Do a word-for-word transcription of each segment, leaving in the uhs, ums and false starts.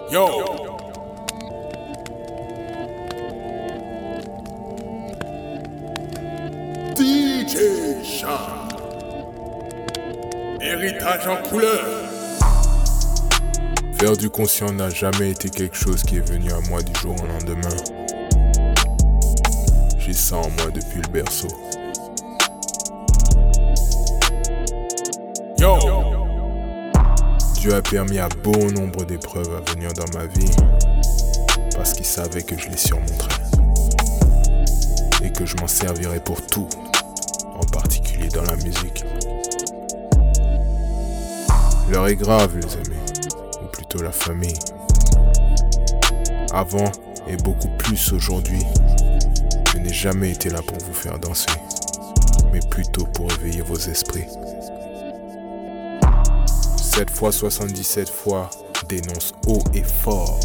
Yo. D J Sha. Héritage en couleur. Faire du conscient n'a jamais été quelque chose qui est venu à moi du jour au lendemain. J'ai ça en moi depuis le berceau. Yo. Dieu a permis à bon nombre d'épreuves à venir dans ma vie parce qu'il savait que je les surmonterais et que je m'en servirais pour tout, en particulier dans la musique. L'heure est grave, les amis, ou plutôt la famille. Avant et beaucoup plus aujourd'hui, je n'ai jamais été là pour vous faire danser, mais plutôt pour éveiller vos esprits. sept fois soixante-dix-sept fois dénonce haut et fort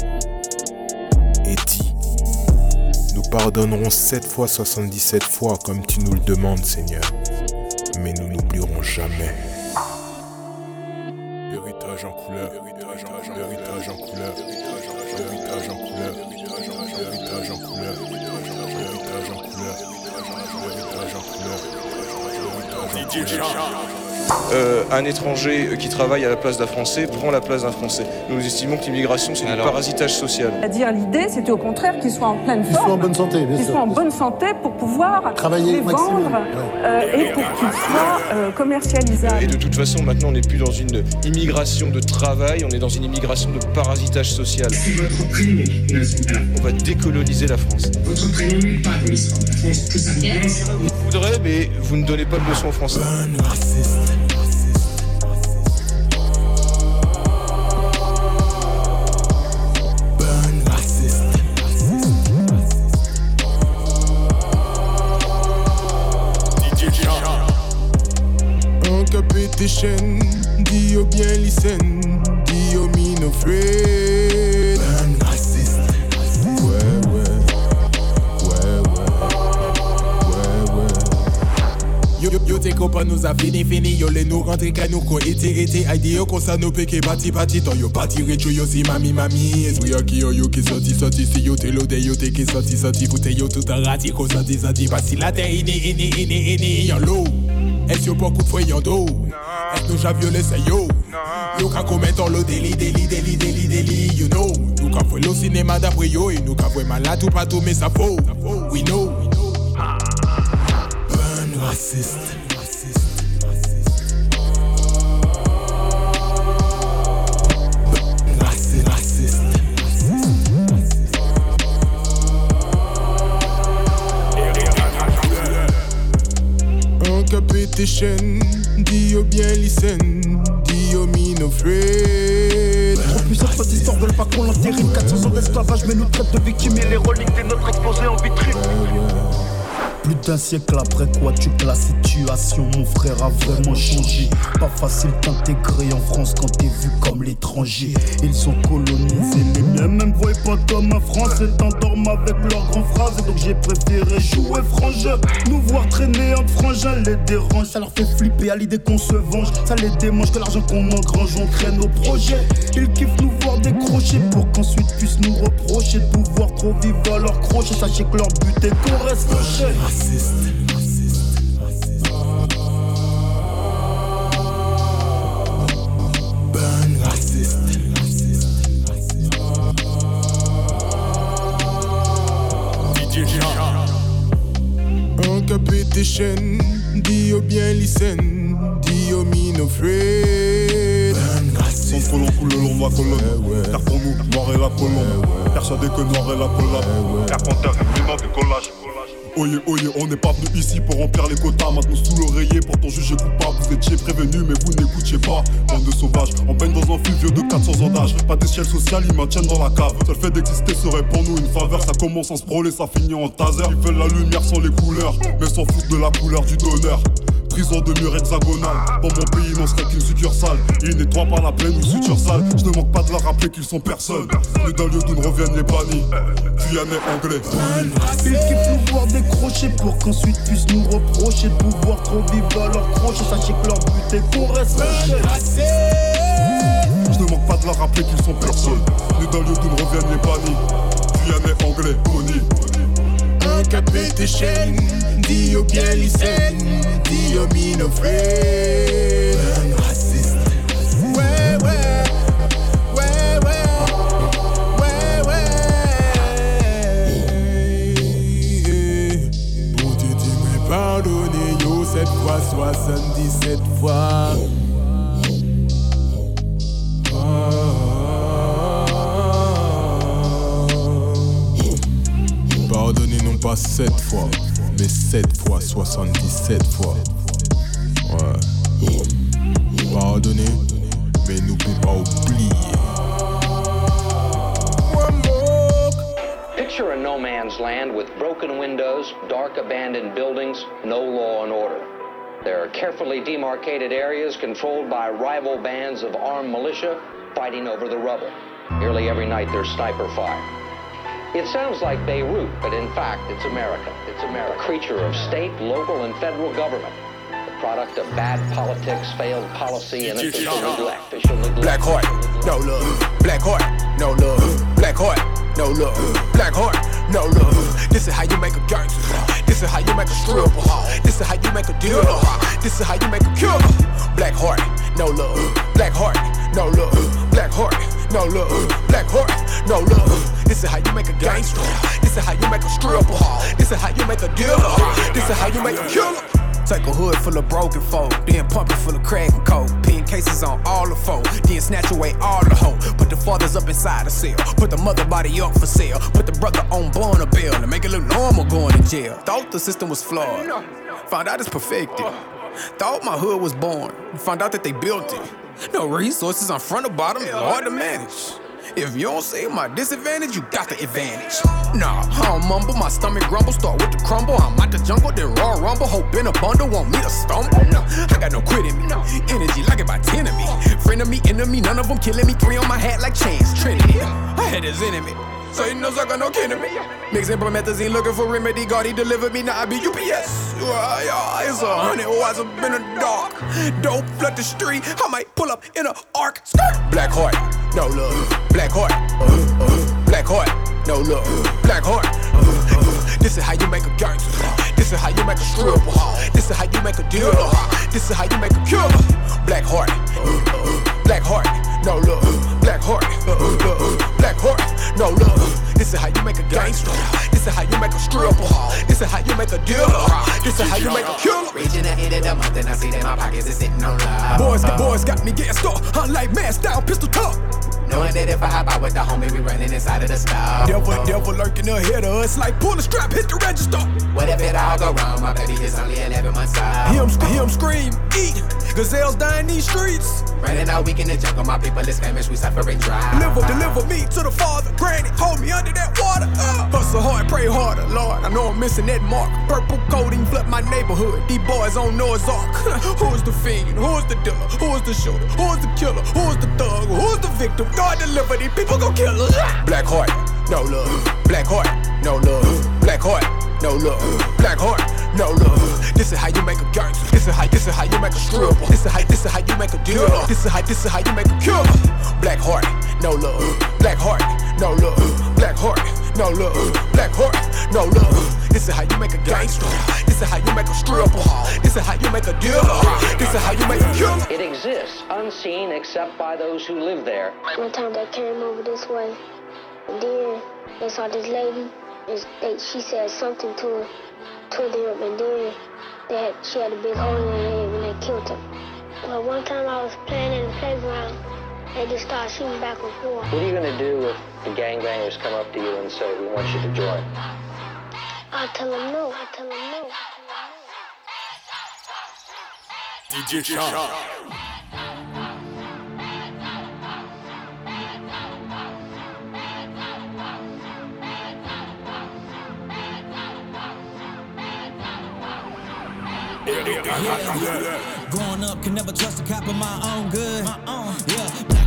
et dit: nous pardonnerons sept fois soixante-dix-sept fois comme tu nous le demandes, Seigneur, mais nous n'oublierons jamais. Héritage en couleur, héritage en couleur, héritage en couleur, héritage en couleur, héritage en couleur, héritage en couleur, héritage en couleur, D J Sha. Euh, un étranger qui travaille à la place d'un Français prend la place d'un Français. Nous estimons que l'immigration, c'est du parasitage social. C'est-à-dire l'idée, c'était au contraire qu'ils soient en pleine forme, qu'ils soient en bonne santé, bien qu'ils sûr, soient en bien bonne sûr. santé pour pouvoir travailler les maximum, vendre ouais. euh, et pour qu'ils soient euh, commercialisables. Et de toute façon, maintenant, on n'est plus dans une immigration de travail, on est dans une immigration de parasitage social. C'est votre prénom qui l'insulte. On va décoloniser la France. Votre prénom n'est pas de l'histoire de la France, tout ça bien. Vous voudrez, mais vous ne donnez pas de leçons aux Français. Tes chaînes, dis au bien listen, dis au mine friend. Un raciste. Ouais, ouais. Ouais, ouais. Ouais, ouais. Yo, yo, yo, t'es copains nous a fini, fini. Yo, les nous rentrer qu'à nous qu'on été, été. Aïe, yo, qu'on ça nous péqué, bâti, bâti. Tant yo, bâti, récho, yo, si mami, mami. Et yo, qui yo, yo, qui sorti, sorti. Si yo, t'es l'odé, yo, t'es qui sorti, sorti. Foutez yo, tout un rati, qu'on sorti, sorti. Pas si la terre, ini, ini, ini, ini, yon l'eau. Est-ce y'a pas coup de fouet yon dos? Est-ce nous j'ai violé c'est yo? Yo ka commet en lo délit, délit, délit, délit, délit, you know. Nous ka fouet le cinéma d'après yo. Et nous ka fouet malade ou pas tout mais ça faut. We know. Burn raciste. Capé tes chaînes, dis au bien listen, dis au mine friend. Trop puissant cette histoire veulent pas qu'on l'entérine. Quatre cents ans d'esclavage mais nous traite de victimes. Et les reliques de notre exposé en vitrine. Plus d'un siècle après quoi tu que la situation mon frère a vraiment changé. Pas facile t'intégrer en France quand t'es vu comme l'étranger. Ils ont colonisé les miens, même voient pas comme un Français. T'endorment avec leurs grandes phrases et donc j'ai préféré jouer frangin. Nous voir traîner entre frangins les dérange. Ça leur fait flipper à l'idée qu'on se venge. Ça les démange que l'argent qu'on engrange on crée nos projets. Ils kiffent nous voir décrocher pour qu'ensuite puissent nous reprocher de pouvoir trop vivre à leur crochet. Sachez que leur but est qu'on reste coché. Raciste, raciste, raciste. Burn raciste, raciste, raciste. D J Sha. Encapé tes chaînes, dis au bien listen, dis au mine friend. Burn raciste. Sans colon coule le long de la colonne. Car pour nous, noir est la colonne. Persuadé que noir est la collab. Car compteur, il manque de collage. Oyez, oyez, on n'est pas venu ici pour remplir les quotas. Maintenant sous l'oreiller, pourtant jugé coupable. Vous étiez prévenus, mais vous n'écoutiez pas. Bande de sauvages, on baigne dans un flux vieux de quatre cents ans d'âge. Pas d'échelle sociale, ils maintiennent dans la cave. Seul fait d'exister serait pour nous une faveur. Ça commence en sprôler, ça finit en taser. Ils veulent la lumière sans les couleurs, mais s'en foutent de la couleur du donneur. Prison de mur hexagonal. Pour mon pays, n'en serait qu'une succursale. Ils nettoient pas la plaine ou succursale. Je ne manque pas de leur rappeler qu'ils sont personne. Plus d'un lieu d'où nous reviennent les bannis. Guyanais anglais. Ils kiffent nous voir décrocher pour qu'ensuite puissent nous reprocher de pouvoir trop vivre à leur crochet. Sachez que leur but est qu'on reste caché. Je ne manque pas de leur rappeler qu'ils sont personne. Né d'un lieu d'où ne reviennent les bannis. Guyanais, anglais, Oni. Un capé tes chaînes, dis au bien lycéenne, dis au mine frère. Un raciste. Ouais, ouais, ouais, ouais, ouais, ouais. Bon Dieu, dis-moi pardonnez, yo, cette fois, soixante-dix-sept fois. Pardonnez non pas sept fois, mais sept fois, soixante-dix-sept fois. Ouais. Pardonnez, mais n'oubliez pas oublier. Picture a no man's land with broken windows, dark abandoned buildings, no law and order. There are carefully demarcated areas controlled by rival bands of armed militia fighting over the rubble. Nearly every night there's sniper fire. It sounds like Beirut, but in fact it's America. It's America, a creature of state, local, and federal government. The product of bad politics, failed policy, and official neglect. Official neglect. Black heart, no love. Black heart, no love. Black heart, no love. Black heart, no love. This is how you make a gangster. This is how you make a stripper. This is how you make a dealer. This is how you make a killer. Black heart, no love. Black heart, no love. Black heart, no love. Black heart, no love. This is how you make a gangster. This is how you make a stripper. This is how you make a dealer. This is how you make a killer. Take a hood full of broken folk, then pump it full of crack and coke. Pin cases on all the folk, then snatch away all the hoe. Put the fathers up inside the cell, put the mother body up for sale. Put the brother on bond a bill and make it look normal going to jail. Thought the system was flawed, found out it's perfected. Thought my hood was born, found out that they built it. No resources on front or bottom, hard to manage. If you don't see my disadvantage, you got the advantage. Nah, I don't mumble, my stomach grumble, start with the crumble. I'm out the jungle, then raw rumble, hope in a bundle, want me to stumble. Nah, I got no quit in me, energy like about ten of me. Friend of me, enemy, none of them killing me. Three on my hat like Chance Trinity. I had his enemy, so he knows I got no kidding me. Mixing promethazine, looking for remedy, God he delivered me, now I be U P S. Uh, yeah, it's a hundred watts up in the dark. Dope flood the street, I might pull up in a arc. Skirt. Black heart, no love. Black heart, uh, uh, black heart, no love. Black heart, uh, uh, this is how you make a gangster. This is how you make a stripper. This is how you make a dealer. This is how you make a killer. Black heart, uh, uh, black heart, no love. Black heart, uh, uh, black heart, no love. This is how you make a gangster. This is how you make a stripper. This is how you make a dealer. This is how you make a killer. Reaching the end of the month and I see that my pockets is sitting on love. Boys, the boys got me getting stuck. I'm like man style, pistol top. Knowing that if I hop out with the homie, we running inside of the stove. Devil, devil lurking ahead of us like pull the strap, hit the register. What if it all go wrong? My baby is only eleven months old. Him, him scream, eat. Gazelles dying these streets. Running all week in the jungle, my people is famished, we suffering dry. Deliver, deliver me to the Father. Granny, hold me under that water. Uh. Hustle hard, pray harder, Lord. I know I'm missing that mark. Purple coating, flood my neighborhood. These boys on Noah's Ark. Who's the fiend? Who's the dealer? Who's the shooter? Who's the killer? Who's the thug? Who's the victim? God deliver these people gon' kill us. Black heart, no love. Black heart, no love. Black heart, no love. Black heart, no love. This is how you make a gangster. This is how this is how you make a stripper. This is how this is how you make a dealer. This is how this is how you make a killer. Black heart, no love. Black heart, no love. Black heart, no love. Black heart, no love. This is how you make a gangster. This is how you make a stripper. This is how you make a dealer. This is how you make a killer. It exists, unseen except by those who live there. One time they came over this way, and then they saw this lady, and they, she said something to her, to them, and then they had, she had a big hole in her head when they killed her. Well, one time I was playing in the playground, they just started shooting back and forth. What are you going to do if the gangbangers come up to you and say, we want you to join? I'll tell them no, I'll tell them no. D J Sean. Growing up, can never trust a cop of my own good. My own, yeah. Black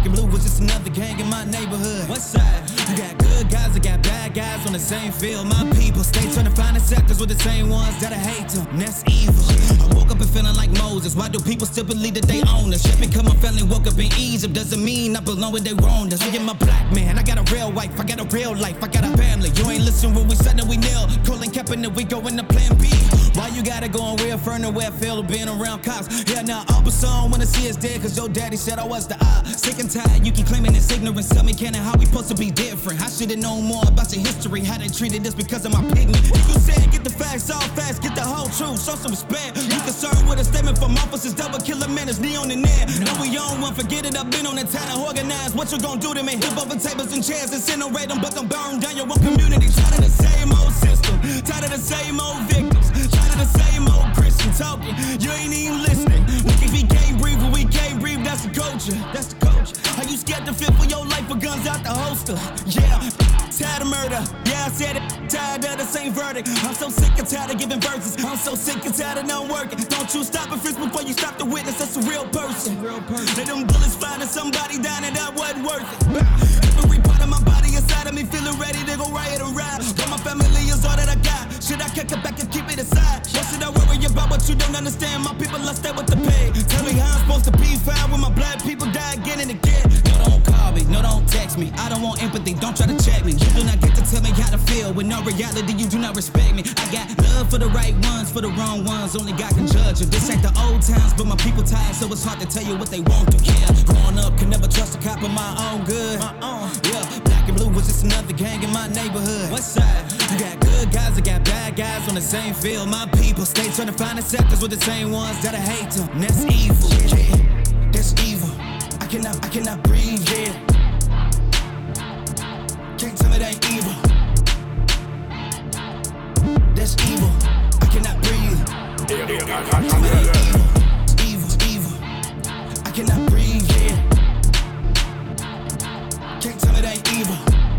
and blue was just another gang in my neighborhood. What side? You got good guys, I got bad guys on the same field. My people stay trying to find the sectors with the same ones that I hate them. And that's evil. I woke up and feeling like Moses. Why do people still believe that they own us? Just because my family woke up in Egypt doesn't mean I belong where they wronged us. I am a black man, I got a real wife, I got a real life, I got a family. You ain't listen when we said that we kneel. Calling Kaepernick, we go into plan B. Why you gotta go on real further where I feel being around cops? Yeah, now all but some wanna see us dead cause your daddy said I was the eye. Sick and tired, you keep claiming this ignorance. Tell me, can and how we supposed to be different? I should've known more about your history, how they treated us because of my pigment. You said get the facts all fast, get the whole truth, show some respect. You concerned with a statement from officers that would kill a man, it's knee on the net. No, we on one, forget it, I've been on the town and organized. What you gonna do to me? Flip over tables and chairs, incinerate them, but don't burn down your own community. Tired of the same old system, tired of the same old victims, tired of the same old Christian talking. You ain't even listening. If we can't breathe, when we can't breathe, that's the culture. That's the culture. Are you scared to fit for your life with guns out the holster? Yeah, tired of murder. Yeah, I said it. Tired of the same verdict. I'm so sick and tired of giving verses. I'm so sick and tired of not working. Don't you stop and frisk before you stop the witness. That's a real person. Real person. Let them bullets fly to somebody down and that wasn't worth it. Every part of my body inside of me feeling ready to go riot and ride. But my family is all that I got. Should I kick it back and keep it aside? What should I worry about what you don't understand? My people are stay with the pay. Tell me how I'm supposed to be fine when my black people die again and again. No, don't call me, no, don't text me. I don't want empathy, don't try to check me. You do not get to tell me how to feel. With no reality, you do not respect me. I got love for the right ones, for the wrong ones. Only God can judge you. This ain't the old times, but my people tired, so it's hard to tell you what they want to. Yeah, growing up, can never trust a cop of my own good. Uh-uh. Yeah, black and blue was just another gang in my neighborhood. What side? You got good guys, I got bad guys on the same field. My people stay trying to find the sectors with the same ones that I hate them. And that's evil, yeah, that's evil. I cannot, I cannot breathe, yeah. Can't tell me that ain't evil. That's evil, I cannot breathe. Can't tell me that ain't evil. It's evil, it's evil. I cannot breathe, yeah. Can't tell me that ain't evil.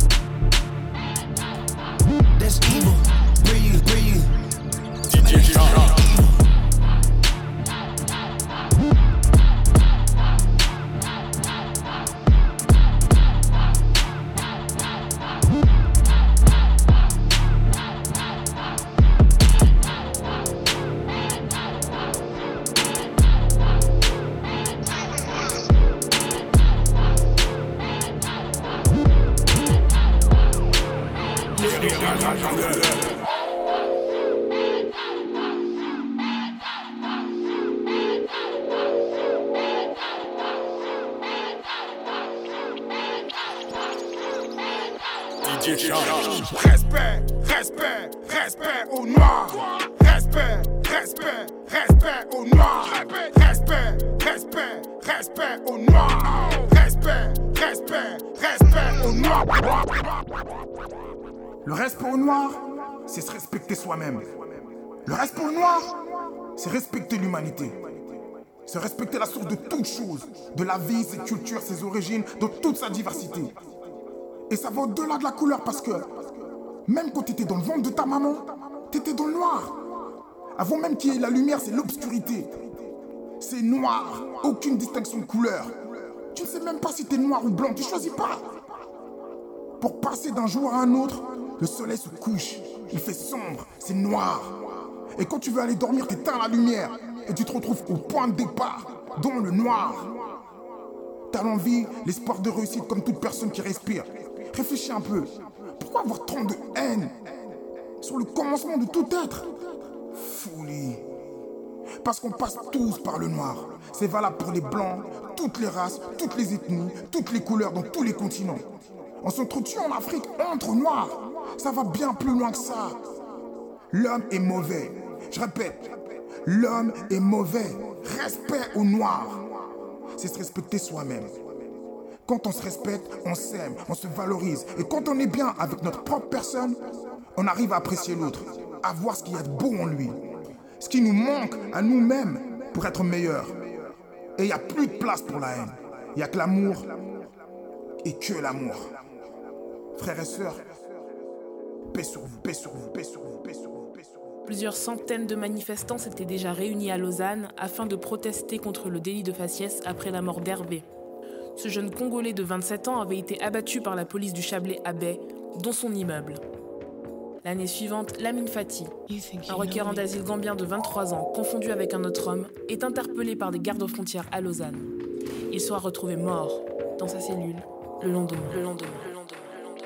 That's evil, breathe, breathe. D J Sean. Respect, respect, respect aux noirs. Respect, respect, respect aux noirs. Respect, respect, respect aux noirs. Respect, respect, respect aux noirs. Le respect aux noirs, c'est se respecter soi-même. Le respect aux noirs, c'est respecter l'humanité. C'est respecter la source de toute chose, de la vie, ses cultures, ses origines, de toute sa diversité. Et ça va au-delà de la couleur parce que même quand tu étais dans le ventre de ta maman, tu étais dans le noir. Avant même qu'il y ait la lumière, c'est l'obscurité. C'est noir, aucune distinction de couleur. Tu ne sais même pas si tu es noir ou blanc, tu choisis pas. Pour passer d'un jour à un autre, le soleil se couche, il fait sombre, c'est noir. Et quand tu veux aller dormir, tu éteins la lumière et tu te retrouves au point de départ, dans le noir. T'as l'envie, l'espoir de réussite comme toute personne qui respire. Réfléchis un peu. Pourquoi avoir tant de haine sur le commencement de tout être? Folie. Parce qu'on passe tous par le noir. C'est valable pour les blancs, toutes les races, toutes les ethnies, toutes les couleurs dans tous les continents. On s'entretue en Afrique entre noirs. Ça va bien plus loin que ça. L'homme est mauvais. Je répète, l'homme est mauvais. Respect aux noirs. C'est se respecter soi-même. Quand on se respecte, on s'aime, on se valorise. Et quand on est bien avec notre propre personne, on arrive à apprécier l'autre, à voir ce qu'il y a de beau en lui, ce qui nous manque à nous-mêmes pour être meilleurs. Et il n'y a plus de place pour la haine. Il n'y a que l'amour et que l'amour. Frères et sœurs, paix sur vous, paix sur vous, paix sur vous, paix sur vous, paix sur vous. Plusieurs centaines de manifestants s'étaient déjà réunis à Lausanne afin de protester contre le délit de faciès après la mort d'Hervé. Ce jeune Congolais de vingt-sept ans avait été abattu par la police du Chablais à Bay, dont son immeuble. L'année suivante, Lamine Fati, un requérant d'asile gambien de vingt-trois ans, confondu avec un autre homme, est interpellé par des gardes-frontières à Lausanne. Il sera retrouvé mort dans sa cellule le lendemain. Le lendemain. Le lendemain.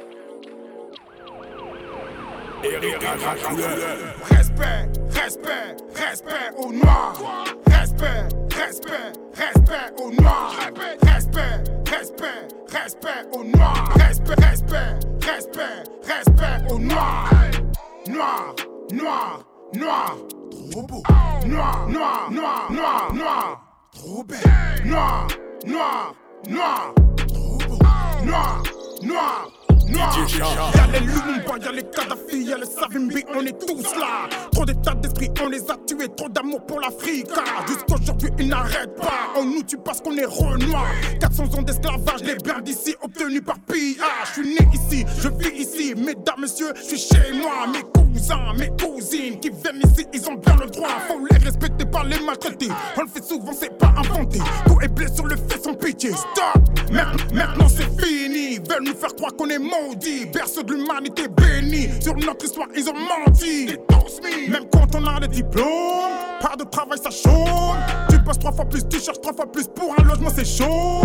Respect, respect, respect aux Noirs. Respect, respect, respect aux Noirs. Respect, respect, respect aux Noirs. Respect, respect, respect, respect aux Noirs. Noir, noir, noir, trop beau. Noir, noir, noir, noir, noir, trop belle. Noir, noir, noir, trop beau. Noir, noir. Y'a les Lumumba, y'a les Kadhafi, y'a les Savimbi, on est tous là. Trop d'état d'esprit, on les a tués, trop d'amour pour l'Afrique. Jusqu'aujourd'hui, ils n'arrêtent pas, on nous tue parce qu'on est renois. quatre cents ans d'esclavage, les biens d'ici obtenus par pillage. Je suis né ici, je vis ici, mesdames, messieurs, je suis chez moi. Mes cousins, mes cousines qui viennent ici, ils ont bien le droit. Faut les respecter, pas les maltraiter. On le fait souvent, c'est pas inventé. Tout est blessé sur le fait sans pitié. Stop, maintenant c'est fini. Ils veulent nous faire croire qu'on est maudits. Berceau de l'humanité béni. Sur notre histoire, ils ont menti. Même quand on a des diplômes, pas de travail, ça chôme. Tu bosses trois fois plus, tu cherches trois fois plus pour un logement, c'est chaud.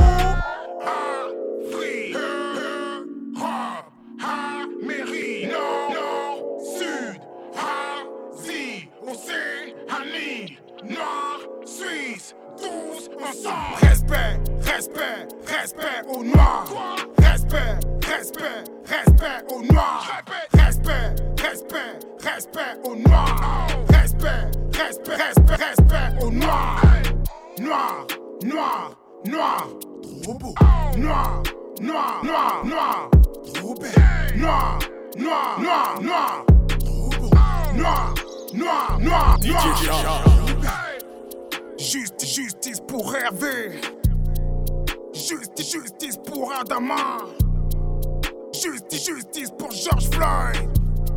Afrique, Europe, Amérique, Nord, Nord, Sud, Asie, Océanie, Nord, Suisse, tous ensemble. Respect, respect, respect aux Noirs. Respect, respect, respect aux Noirs. Respect, respect, respect aux Noirs. Respect, respect, respect, respect aux Noirs. Noir, noir, noir, trop beau. Noir, noir, noir, noir, trop belle. Noir, noir, noir, noir, trop beau. Noir, noir, noir, noir. Justice, justice pour Hervé. Justice, justice pour Adama. Justice, justice pour George Floyd.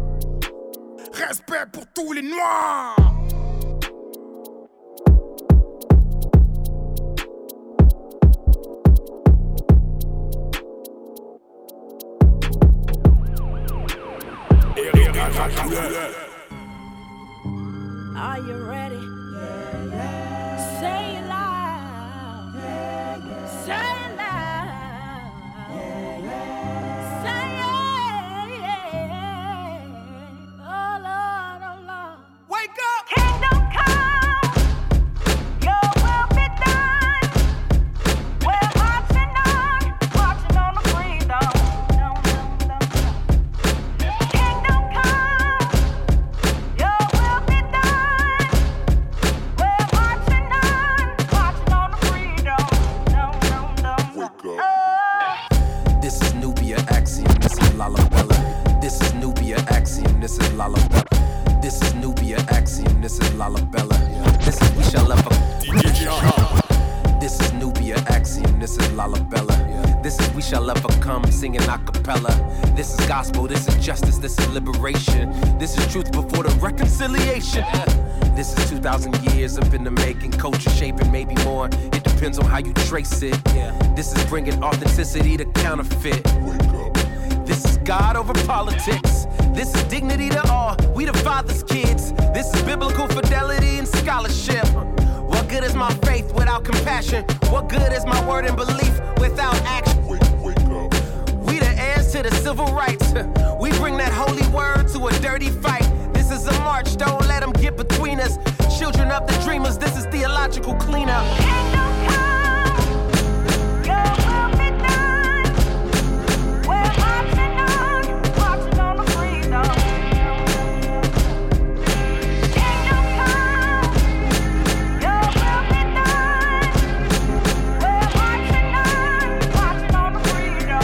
Respect pour tous les Noirs. Are you ready? Yeah, yeah. Say it loud. Yeah, yeah. Say it loud. Yeah, yeah. Say it. Oh Lord, oh Lord. Wake up. Kingdom come. Your will be done. We're marching on, marching on the freedom. No, no, no, no. Kingdom come. Your will be done. We're marching on, marching on the freedom. No, no, no, no. Oh. This is Nubia Axiom, this is Lalabella. This is Nubia Axiom, this is Lalabella. This is Nubia Axiom, this is Lalabella. This is We Shall Ever. This is Nubia Axiom, this is Lalabella. This is We Shall Ever Come, singing a cappella. This is gospel, this is justice, this is liberation. This is truth before the reconciliation. This is two thousand years up in the making, culture shaping, maybe more. It depends on how you trace it. This is bringing authenticity to counterfeit. This is God over politics. This is dignity to all. We the Father's kids. This is biblical fidelity and scholarship. What good is my faith without compassion? What good is my word and belief without action? We the heirs to the civil rights. We bring that holy word to a dirty fight. This is a march, don't let them get between us. Children of the dreamers, this is theological cleanup. Kingdom come. Your will be done. We're marching on, marching on the freedom. Kingdom come. Your will be done. We're marching on, marching on the freedom.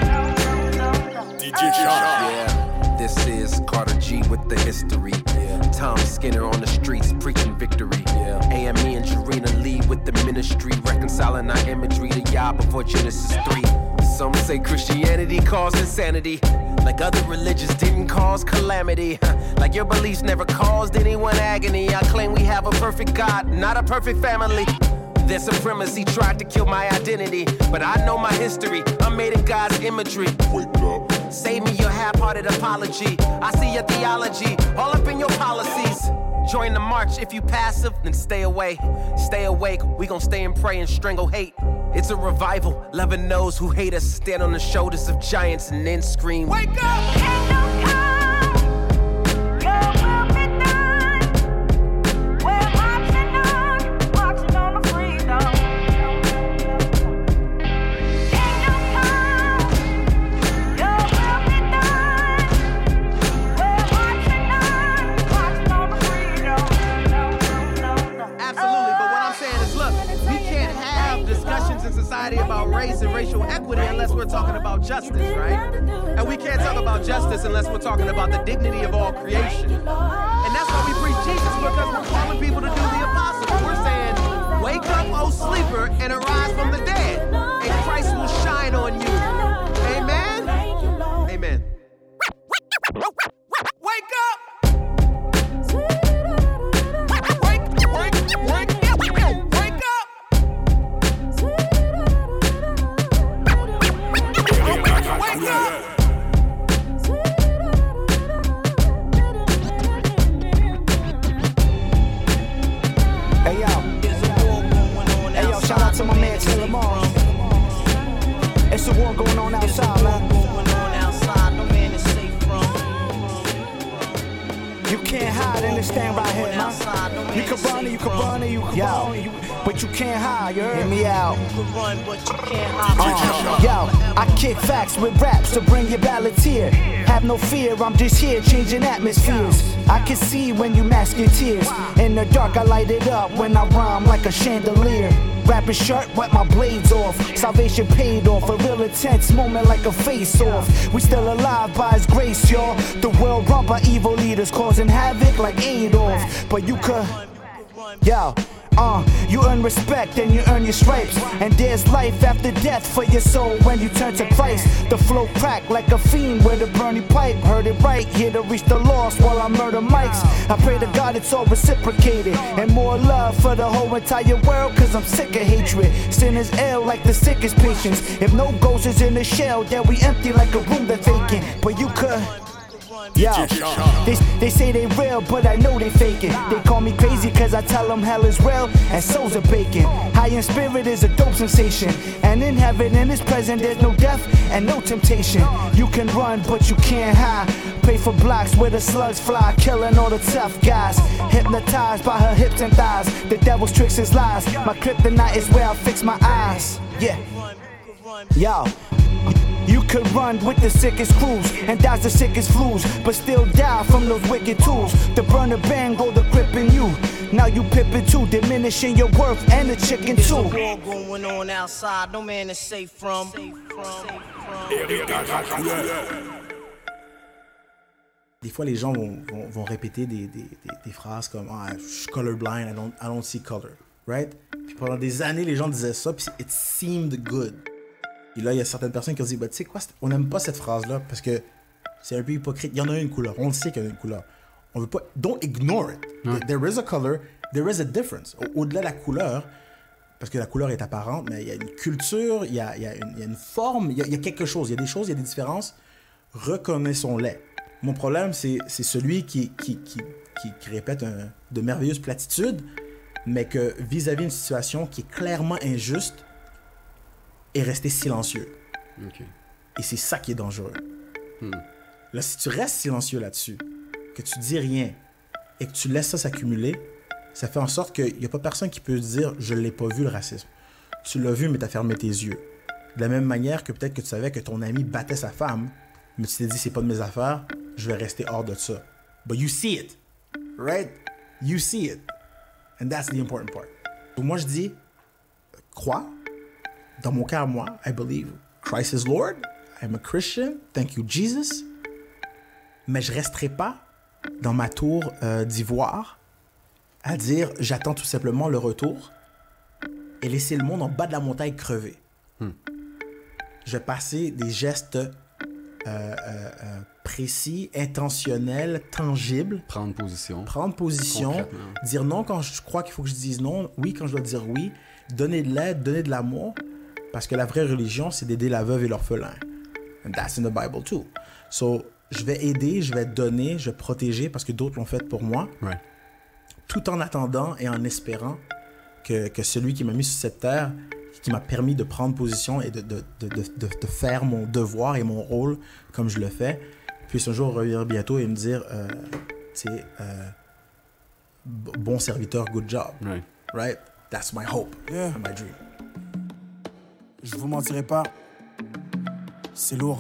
D J Yeah, this is Carter G with the history. Tom Skinner on the streets preaching victory. A M E and Jarena Lee with the ministry, reconciling our imagery to Yah before Genesis three. Some say Christianity caused insanity, like other religions didn't cause calamity. Like your beliefs never caused anyone agony. I claim we have a perfect God, not a perfect family. Their supremacy tried to kill my identity, but I know my history. I'm made in God's imagery. Wake up. Save me your half-hearted apology. I see your theology all up in your policies. Join the march. If you passive, then stay away. Stay awake. We gon' stay and pray and strangle hate. It's a revival. Loving those who hate us. Stand on the shoulders of giants and then scream. Wake up! Kingdom come. About race and racial equity unless we're talking about justice, right? And we can't talk about justice unless we're talking about the dignity of all creation. And that's why we preach Jesus, because we're calling people to do the impossible. We're saying, wake up, O sleeper, and arise from the dead, and Christ will shine on you. Amen? Amen. Wake up! It's a war going on outside, man. You can't hide in this stand right here, man. You can run it, you can run it, you can run it, but you can't hide, you hear me out. Uh, yo, I kick facts with raps to bring your ballads here. Have no fear, I'm just here changing atmospheres. I can see when you mask your tears. In the dark, I light it up when I rhyme like a chandelier. Rapper shirt, wipe my blades off. Salvation paid off, a real intense moment like a face-off. We still alive by His grace, y'all. The world run by evil leaders causing havoc like Adolf. But you could, yo. Uh, you earn respect and you earn your stripes. And there's life after death for your soul when you turn to Christ. The flow crack like a fiend with a burning pipe. Heard it right, here to reach the lost while I murder mics. I pray to God it's all reciprocated, and more love for the whole entire world, cause I'm sick of hatred. Sin is ill like the sickest patients. If no ghost is in the shell, then we empty like a room that's vacant. But you could, yo, they, they say they real, but I know they faking. They call me crazy cause I tell them hell is real and souls are bacon. High in spirit is a dope sensation, and in heaven in His presence there's no death and no temptation. You can run but you can't hide. Pray for blocks where the slugs fly, killing all the tough guys. Hypnotized by her hips and thighs, the devil's tricks and lies. My kryptonite is where I fix my eyes. Yeah, yo. You could run with the sickest crews and dodge the sickest flus, but still die from those wicked tools. The burner bang go the grip in you. Now you pippin' too, diminishing your worth and the chicken too. There's a war going on outside, no man is safe from. Des fois, les gens vont, vont, vont répéter des, des, des, des phrases comme ah, je suis colorblind, I don't, I don't see color, right? Puis pendant des années, les gens disaient ça, puis it seemed good. Et là, il y a certaines personnes qui ont dit, bah, tu sais quoi, on n'aime pas cette phrase-là parce que c'est un peu hypocrite. Il y en a une couleur, on le sait qu'il y en a une couleur. On veut pas, don't ignore it. Ouais. There is a color, there is a difference. Au- au-delà de la couleur, parce que la couleur est apparente, mais il y a une culture, il y a, il y a, une, il y a une forme, il y a, il y a quelque chose, il y a des choses, il y a des différences. Reconnaissons-les. Mon problème, c'est, c'est celui qui, qui, qui, qui, qui répète un, de merveilleuses platitudes, mais que vis-à-vis d'une situation qui est clairement injuste, est resté silencieux. Okay. Et c'est ça qui est dangereux. Hmm. Là, si tu restes silencieux là-dessus, que tu dis rien et que tu laisses ça s'accumuler, ça fait en sorte qu'il n'y a pas personne qui peut dire « je ne l'ai pas vu le racisme ». Tu l'as vu, mais tu as fermé tes yeux. De la même manière que peut-être que tu savais que ton ami battait sa femme, mais tu t'es dit « c'est pas de mes affaires, je vais rester hors de ça ». But you see it, right? You see it. And that's the important part. Donc moi, je dis, crois. Dans mon cas, moi, I believe Christ is Lord. I'm a Christian. Thank you, Jesus. Mais je ne resterai pas dans ma tour euh, d'ivoire à dire j'attends tout simplement le retour et laisser le monde en bas de la montagne crever. Hmm. Je vais passer des gestes euh, euh, euh, précis, intentionnels, tangibles. Prendre position. Prendre position. Dire non quand je crois qu'il faut que je dise non. Oui quand je dois dire oui. donner de l'aide, donner de l'amour, parce que la vraie religion, c'est d'aider la veuve et l'orphelin. And that's in the Bible too. So, je vais aider, je vais donner, je vais protéger, parce que d'autres l'ont fait pour moi, right. tout en attendant et en espérant que, que celui qui m'a mis sur cette terre, qui m'a permis de prendre position et de, de, de, de, de, de faire mon devoir et mon rôle comme je le fais, puisse un jour revenir bientôt et me dire, euh, tu sais, euh, bon serviteur, good job. Right. Right? That's my hope yeah. and my dream. Je vous mentirai pas, c'est lourd.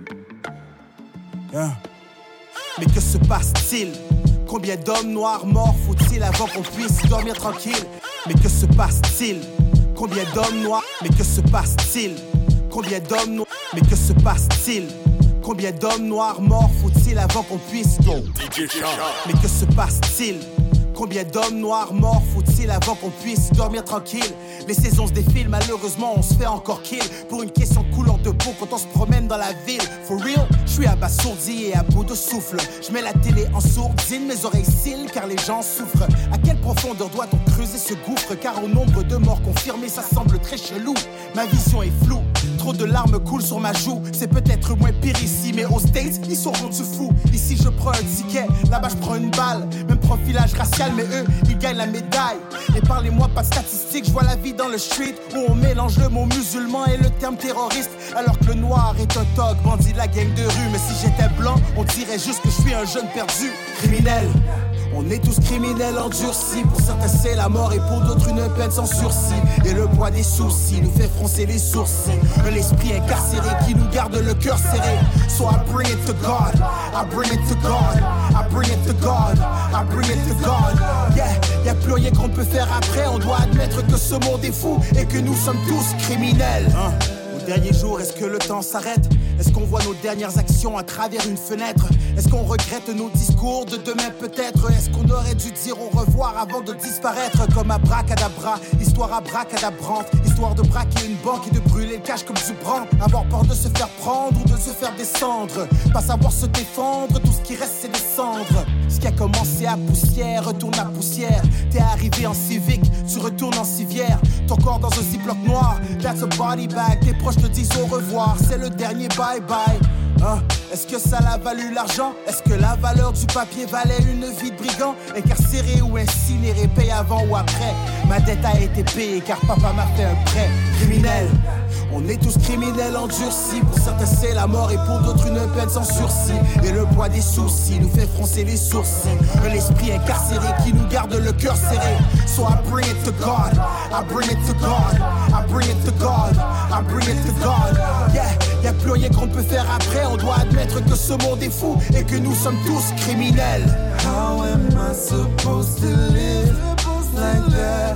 Yeah. Mais que se passe-t-il? Combien d'hommes noirs morts faut-il avant qu'on puisse dormir tranquille? Mais que se passe-t-il? Combien d'hommes noirs? Mais que se passe-t-il? Combien d'hommes noirs? Mais que se passe-t-il? Combien d'hommes noirs morts faut-il avant qu'on puisse dormir? Mais que se passe-t-il? Combien d'hommes noirs morts faut-il avant qu'on puisse dormir tranquille? Les saisons se défilent, malheureusement on se fait encore kill pour une question de couleur de peau quand on se promène dans la ville. For real, je suis abasourdi et à bout de souffle. Je mets la télé en sourdine, mes oreilles cillent car les gens souffrent. À quelle profondeur doit-on creuser ce gouffre? Car au nombre de morts confirmés, ça semble très chelou. Ma vision est floue, trop de larmes coulent sur ma joue. C'est peut-être moins pire ici, mais aux States, ils sont rendus fous. Ici je prends un ticket, là-bas je prends une balle. Même profilage racial, mais eux, ils gagnent la médaille. Et parlez-moi pas de statistiques, je vois la vie dans le street où on mélange le mot musulman et le terme terroriste. Alors que le noir est un thug, bandit de la gang de rue. Mais si j'étais blanc, on dirait juste que je suis un jeune perdu. Criminel, on est tous criminels endurcis. Pour certains c'est la mort et pour d'autres une peine sans sursis. Et le poids des soucis nous fait froncer les sourcils. Un esprit incarcéré qui nous garde le cœur serré. So I bring it to God, I bring it to God, I bring it to God, I bring it to God. Yeah, y'a plus rien qu'on peut faire après. On doit admettre que ce monde est fou et que nous sommes tous criminels. Hein? Au dernier jour, est-ce que le temps s'arrête? Est-ce qu'on voit nos dernières actions à travers une fenêtre? Est-ce qu'on regrette nos discours de demain peut-être? Est-ce qu'on aurait dû dire au revoir avant de disparaître? Comme abracadabra, histoire abracadabrante, histoire de braquer une banque et de brûler le cash comme du branc. Avoir peur de se faire prendre ou de se faire descendre. Pas savoir se défendre, tout ce qui reste c'est des cendres. Ce qui a commencé à poussière retourne à poussière. T'es arrivé en civique, tu retournes en civière. Ton corps dans un ziploc noir, that's a body bag. Tes proches te disent au revoir, c'est le dernier bye bye. Hein? Est-ce que ça l'a valu l'argent? Est-ce que la valeur du papier valait une vie de brigand? Incarcéré ou incinéré, paye avant ou après? Ma dette a été payée car papa m'a fait un prêt. Criminel, on est tous criminels endurcis. Pour certains c'est la mort et pour d'autres une peine sans sursis. Et le poids des soucis nous fait froncer les sourcils. Un esprit incarcéré qui nous garde le cœur serré. So I bring it to God, I bring it to God, I bring it to God, I bring it to God. Yeah, y'a plus rien qu'on peut faire après. On doit admettre que ce monde est fou et que nous sommes tous criminels. How am I supposed to live like that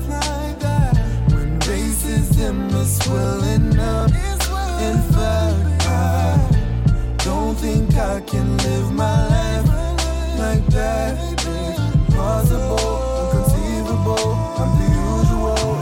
when racism is swelling up? In fact, I don't think I can live my life like that. Impossible, inconceivable, I'm the usual.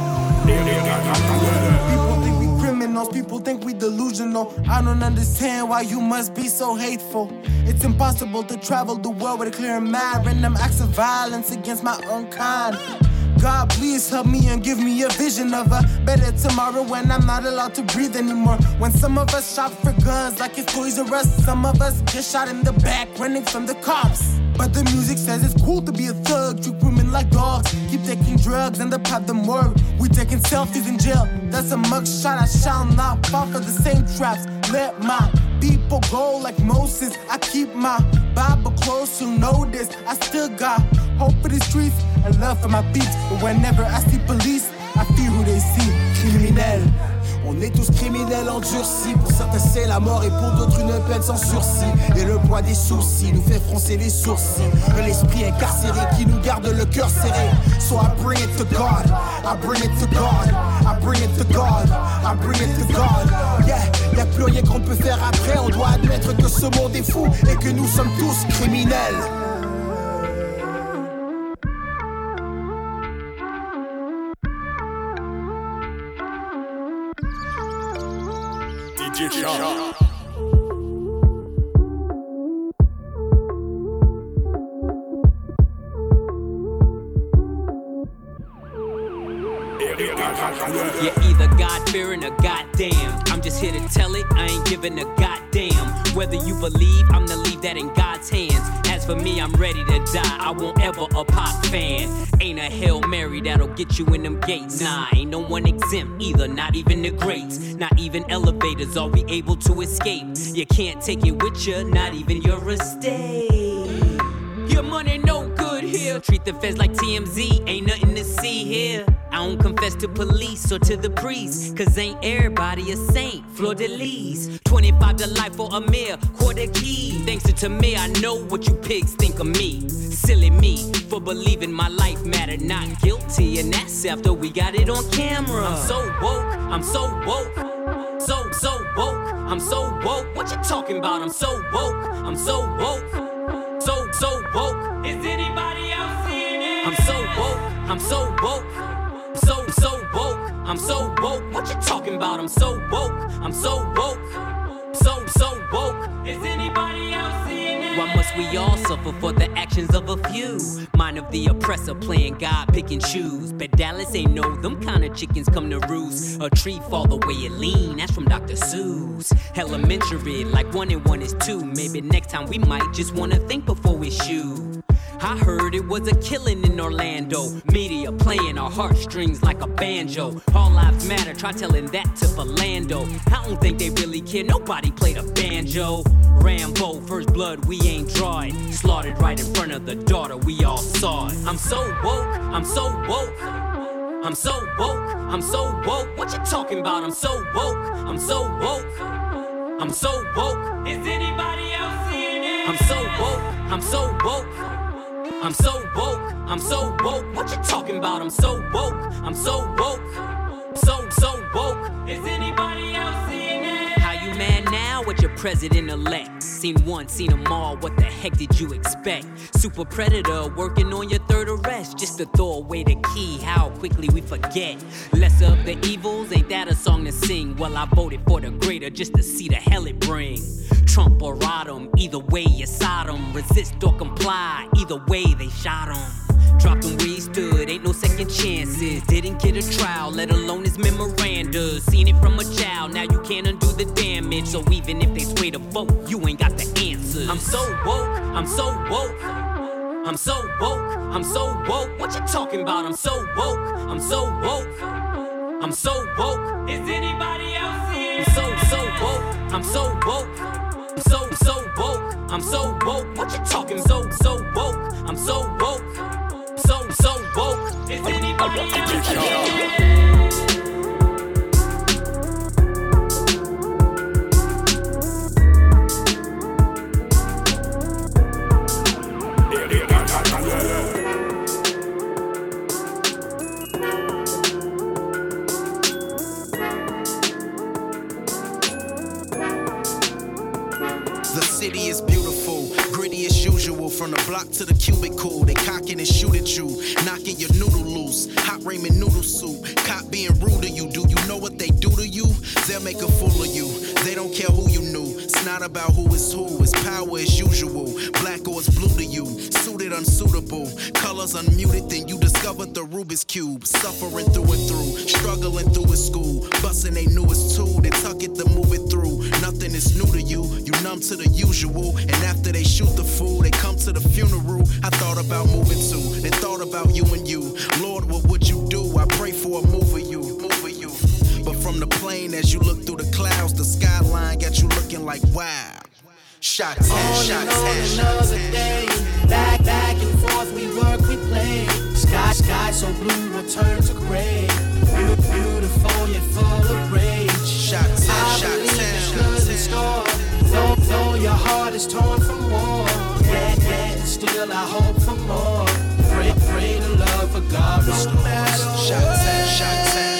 People think we criminals, people think we delusional. I don't understand why you must be so hateful. It's impossible to travel the world with a clear mind. Random acts of violence against my own kind. God, please help me and give me a vision of a better tomorrow when I'm not allowed to breathe anymore. When some of us shop for guns like it's Toys R Us, some of us get shot in the back running from the cops. But the music says it's cool to be a thug, treat women like dogs, keep taking drugs and the pop them word. We taking selfies in jail, that's a mugshot. I shall not fall for the same traps. Let my people go like Moses. I keep my Bible close, you know this. I still got hope for the streets and love for my peeps. But whenever I see police, I feel who they see. Criminel, on est tous criminels endurcis. Pour certains c'est la mort et pour d'autres une peine sans sursis. Et le poids des soucis nous fait froncer les sourcils. Un esprit incarcéré qui nous garde le cœur serré. So I bring it to God, I bring it to God, I bring it to God, I bring it to God. Yeah, y'a plus rien qu'on peut faire après. On doit admettre que ce monde est fou et que nous sommes tous criminels. D J Sean. You're either God-fearing or goddamn. I'm just here to tell it, I ain't giving a goddamn. Whether you believe, I'm to leave that in God's hands. As for me, I'm ready to die, I won't ever a pop fan. Ain't a Hail Mary that'll get you in them gates. Nah, ain't no one exempt either, not even the greats. Not even elevators are we able to escape. You can't take it with you, not even your estate. Your money no good here. Treat the feds like T M Z, ain't nothing to see here. I don't confess to police or to the priest, cause ain't everybody a saint. Fleur de lis, twenty-five to life for a mere quarter key. Thanks to me, I know what you pigs think of me. Silly me, for believing my life mattered. Not guilty, and that's after we got it on camera. I'm so woke, I'm so woke. So, so woke, I'm so woke. What you talking about? I'm so woke, I'm so woke. So, so woke. Is anybody else seeing it? I'm so woke, I'm so woke. So, so woke, I'm so woke. What you talking about? I'm so woke, I'm so woke. So, so woke. Is anybody else seeing it? Why must we all suffer for the actions of a few? Mind of the oppressor playing God, pick and choose. But Dallas ain't know them kind of chickens come to roost. A tree fall the way it lean, that's from Doctor Seuss. Elementary, like one and one is two. Maybe next time we might just wanna think before we shoot. I heard it was a killing in Orlando. Media playing our heartstrings like a banjo. All lives matter, try telling that to Philando. I don't think they really care, nobody played a banjo. Rambo, first blood, we ain't drawing. Slaughtered right in front of the daughter, we all saw it. I'm so woke, I'm so woke. I'm so woke, I'm so woke. What you talking about? I'm so woke, I'm so woke. I'm so woke. Is anybody else seeing it? I'm so woke, I'm so woke. I'm so woke, I'm so woke. What you talking about? I'm so woke, I'm so woke. So, so woke. Is anybody else seeing it? How you mad now with your president-elect? Seen one, seen them all, what the heck did you expect? Super predator working on your third arrest. Just to throw away the key, how quickly we forget. Lesser of the evils, ain't that a song to sing? Well, I voted for the greater just to see the hell it bring. Trump or Rodham, either way you Sodom. Resist or comply, either way they shot him. Dropped him where he stood, ain't no second chances. Didn't get a trial, let alone his memoranda. Seen it from a child, now you can't undo the damage. So even if they sway the vote, you ain't got the answers. I'm so woke, I'm so woke. I'm so woke, I'm so woke. What you talking about? I'm so woke, I'm so woke. I'm so woke. Is anybody else seeing it? I'm so, so woke, I'm so woke. So, so woke, I'm so woke. What you talking? So, so woke, I'm so woke. So, so woke. Is anybody else here? City is beautiful, gritty as usual. From the block to the cubicle, they cocking and shoot at you, knocking your noodle loose. Hot ramen noodle soup, cop being rude to you. Do you know what they do to you? They'll make a fool of you. They don't care who you knew. It's not about who is who. It's power as usual. Black or it's blue to you. Suited, unsuitable. Colors unmuted, then you discovered the Rubik's Cube. Suffering through and through, struggling through his school. Busting they newest tool, they tuck it to move it through. Nothing is new to you. You numb to the usual. And after they shoot the fool, they come to the funeral. I thought about moving too. Then thought about you and you. Lord, what would you do? I pray for a move of you. Move of you. But from the plane, as you look through the clouds, the skyline got you looking like wow. Shots at, shots at, another day. Back, back and forth, we work, we play. Sky, sky so blue will turn to gray. Beautiful yet full of rage. Shots at, shots at, good in store. Though, though your heart is torn from war. Yeah, yeah, still I hope for more. Pray, pray the love of God restores. Shots at, shots at.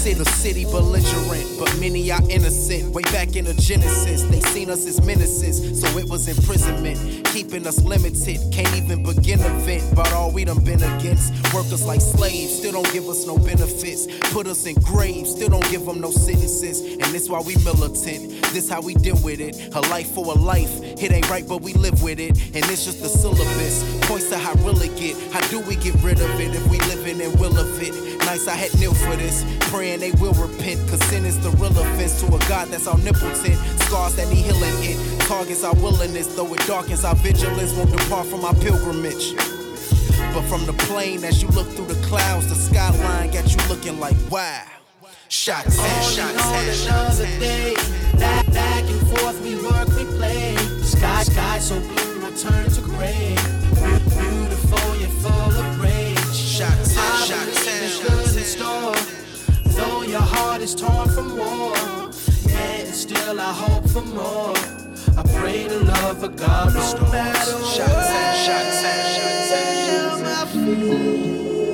city, the city belligerent, but many are innocent. Way back in the Genesis, they seen us as menaces, so it was imprisonment, keeping us limited. Can't even begin to vent about all we done been against. Workers like slaves, still don't give us no benefits. Put us in graves, still don't give them no sentences. And this why we militant, this how we deal with it. A life for a life, it ain't right but we live with it. And it's just the syllabus, points to how real it get. How do we get rid of it if we living in will of it? Nice I had kneel for this, praying they will repent. Cause sin is the real offense to a God that's omnipotent. Scars that need healing it, targets our willingness. Though it darkens our vigilance, won't depart from our pilgrimage. But from the plane, as you look through the clouds, the skyline got you looking like wow. Shots and shots and shots. Another day, back, back and forth, we work, we play. Sky, sky so blue will turn to gray. Beautiful, yet full of rage. Shots and shots and shots in store. Though your heart is torn from war, yet still I hope for more. I pray the love of God restores. Shots and shots and shots and shots and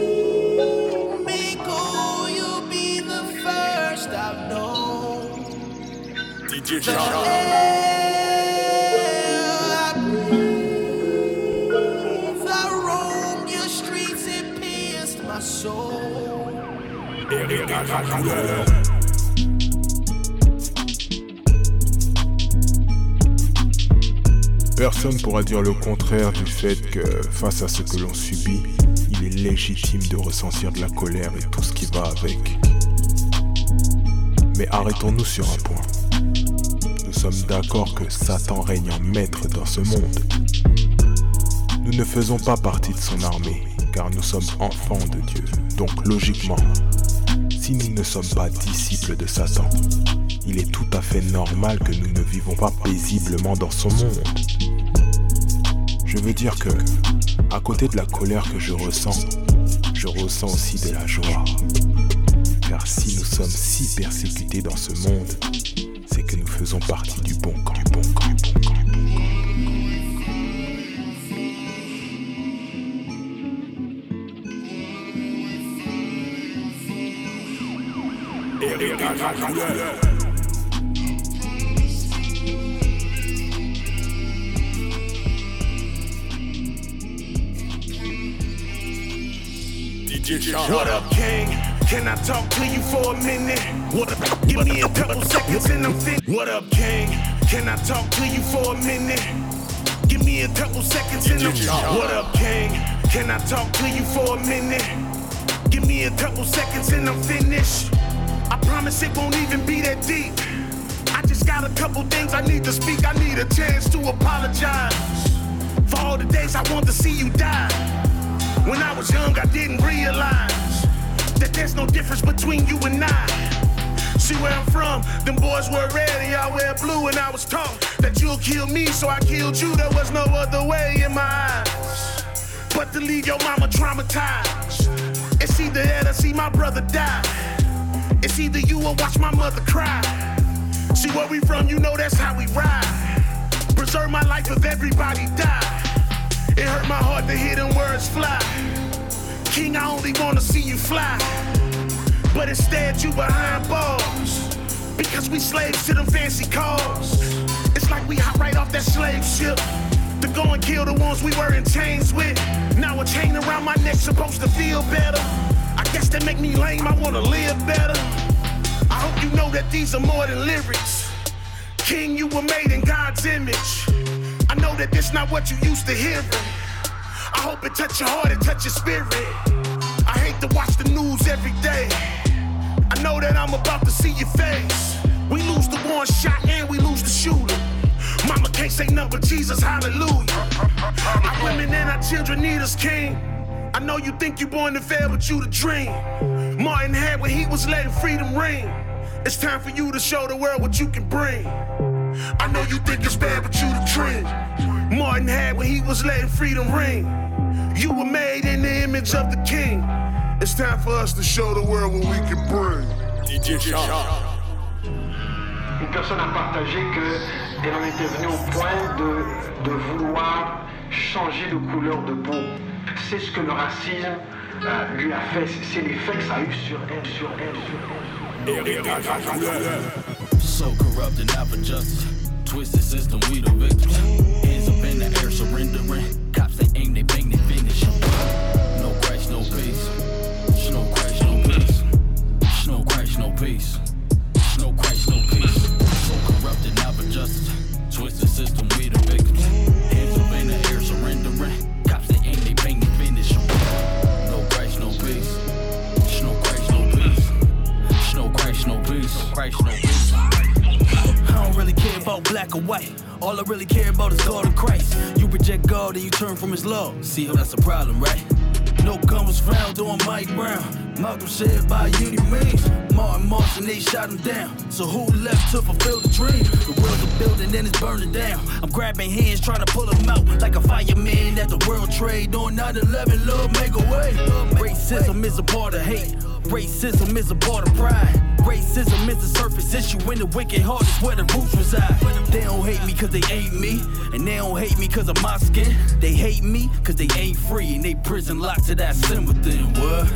I've known D J Sean. I roam your streets, it pierced my soul. Eric à la couleur. Personne pourra dire le contraire du fait que, face à ce que l'on subit, il est légitime de ressentir de la colère et tout ce qui va avec. Mais arrêtons-nous sur un point. Nous sommes d'accord que Satan règne en maître dans ce monde. Nous ne faisons pas partie de son armée, car nous sommes enfants de Dieu. Donc logiquement, si nous ne sommes pas disciples de Satan, il est tout à fait normal que nous ne vivons pas paisiblement dans son monde. Je veux dire que, à côté de la colère que je ressens, je ressens aussi de la joie. Car si nous sommes si persécutés dans ce monde, c'est que nous faisons partie du bon camp, du bon camp, du bon camp. Eric à la couleur. D J Sean. What up, King? Can I talk to you for a minute? What up? Give me a couple seconds and I'm fit. What up, King? Can I talk to you for a minute? Give me a couple seconds and I'm fit. What up, King? Can I talk to you for a minute? Give me a couple seconds and I'm finished. I promise it won't even be that deep. I just got a couple things I need to speak. I need a chance to apologize for all the days I wanted to see you die. When I was young, I didn't realize that there's no difference between you and I. See where I'm from, them boys were red and y'all wear blue. And I was taught that you'll kill me, so I killed you. There was no other way in my eyes but to leave your mama traumatized. It's either that or see my brother die. It's either you or watch my mother cry. See where we from, you know that's how we ride. Preserve my life if everybody die. It hurt my heart to hear them words fly. King, I only wanna see you fly, but instead you behind bars, because we slaves to them fancy cars. It's like we hot right off that slave ship to go and kill the ones we were in chains with. Now a chain around my neck supposed to feel better. I guess that make me lame, I wanna live better. I hope you know that these are more than lyrics. King, you were made in God's image. I know that this not what you used to hearing. I hope it touch your heart and touch your spirit. I hate to watch the news every day. I know that I'm about to see your face. We lose the one shot and we lose the shooter. Mama can't say nothing but Jesus, hallelujah. Our women and our children need us, King. I know you think you born to fail, but you the dream. Martin had when he was letting freedom ring. It's time for you to show the world what you can bring. I know you think it's bad, but you the dream. Martin had when he was letting freedom ring. You were made in the image of the King. It's time for us to show the world what we can bring. D J Sean. Une personne a partagé qu'elle en était venue au point de, de vouloir changer de couleur de peau. C'est ce que le racisme euh, lui a fait, c'est l'effet que ça a eu sur elle, sur elle, sur elle. So corrupt and not for justice. Twisted system, we the victims. Hands up in the air, surrendering. Cops, they aim, they bang, they finish. No Christ, no peace. No Christ, no peace. No Christ, no peace. No Christ, no peace. So corrupt and not for justice. Twisted system, we the victims. Hands up in the air, surrendering. Cops, they aim, they bang, they finish. No Christ, no peace. No Christ, no peace. No Christ, no peace. No Christ, no peace. I don't really care about black or white. All I really care about is God and Christ. You reject God and you turn from his law. See how that's a problem, right? No gun was found on Mike Brown. Malcolm said by any means. Martin Martin, they shot him down. So who left to fulfill the dream? The world's a building and it's burning down. I'm grabbing hands trying to pull them out like a fireman at the World Trade on nine eleven. Love make a way. Racism is a part of hate. Racism is a part of pride. Racism is a surface issue when the wicked heart is where the roots reside. They don't hate me cause they ain't me. And they don't hate me cause of my skin. They hate me cause they ain't free. And they prison locked to that sin within. What?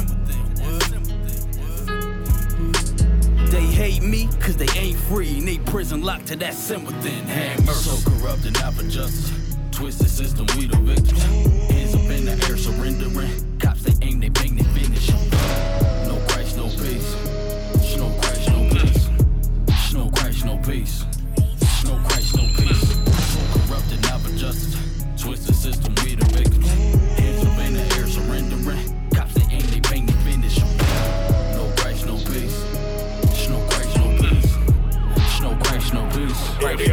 They hate me cause they ain't free. And they prison locked to that sin within. Have mercy. So corrupt and not for justice. Twisted system, we the victims. Hands up in the air, surrendering. Cops, they aim, they bang, they finish. No Christ, no peace. No Christ, no peace. No Christ, no peace. No Christ, no peace. So corrupt and not for justice. Twisted system, we the victims. Hands up in the air, surrendering. Cops, they aim, they bang, they finish. No Christ, no peace. No Christ, no peace. No Christ, no peace.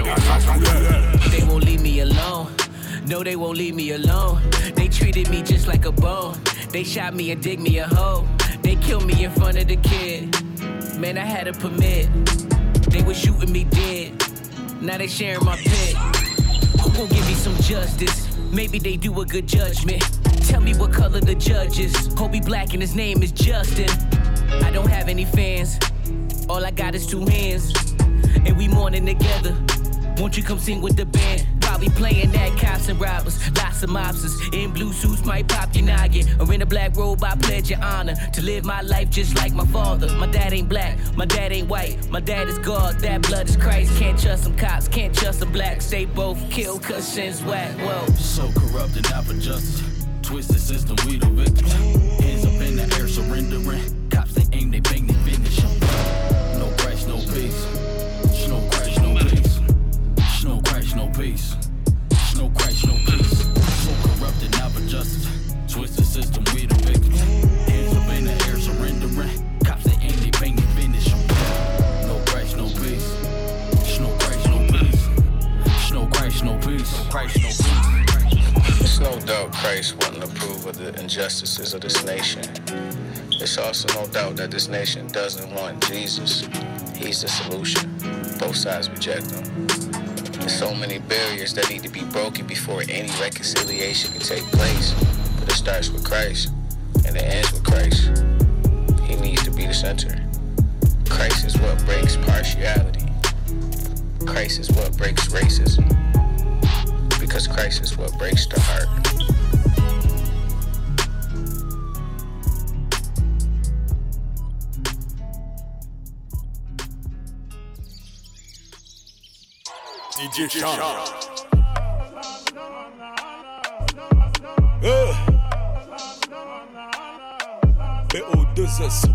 They won't leave me alone. No, they won't leave me alone. They treated me just like a bone. They shot me and dig me a hole. They killed me in front of the kid. Man, I had a permit. They was shooting me dead. Now they sharing my pit. Who gon' give me some justice? Maybe they do a good judgment. Tell me what color the judge is. Kobe Black and his name is Justin. I don't have any fans. All I got is two hands. And we mourning together. Won't you come sing with the band? While we playing that cops and robbers, lots of mobsters in blue suits might pop your noggin. Or in a black robe, I pledge your honor to live my life just like my father. My dad ain't black, my dad ain't white. My dad is God, that blood is Christ. Can't trust some cops, can't trust some blacks. They both kill cause sin's whack. Whoa. So corrupt and not for justice. Twisted system, we the victims. Hands up in the air, surrendering. Cops, they aim, they bang, they finish. No Christ, no peace. No Christ, no peace. No Christ, no peace. No Christ, no peace. So corrupt and not for justice. Twisted system, we the victims. Hands up in the air, surrendering. Cops, they aim, they bang, they finish. No Christ, no peace. No Christ, no peace. No Christ, no peace. No Christ, no peace. It's no doubt Christ wouldn't approve of the injustices of this nation. It's also no doubt that this nation doesn't want Jesus. He's the solution. Both sides reject him. There's so many barriers that need to be broken before any reconciliation can take place. But it starts with Christ, and it ends with Christ. He needs to be the center. Christ is what breaks partiality. Christ is what breaks racism. Because Christ is what breaks the heart. D J Sean. Euh. P O deux S.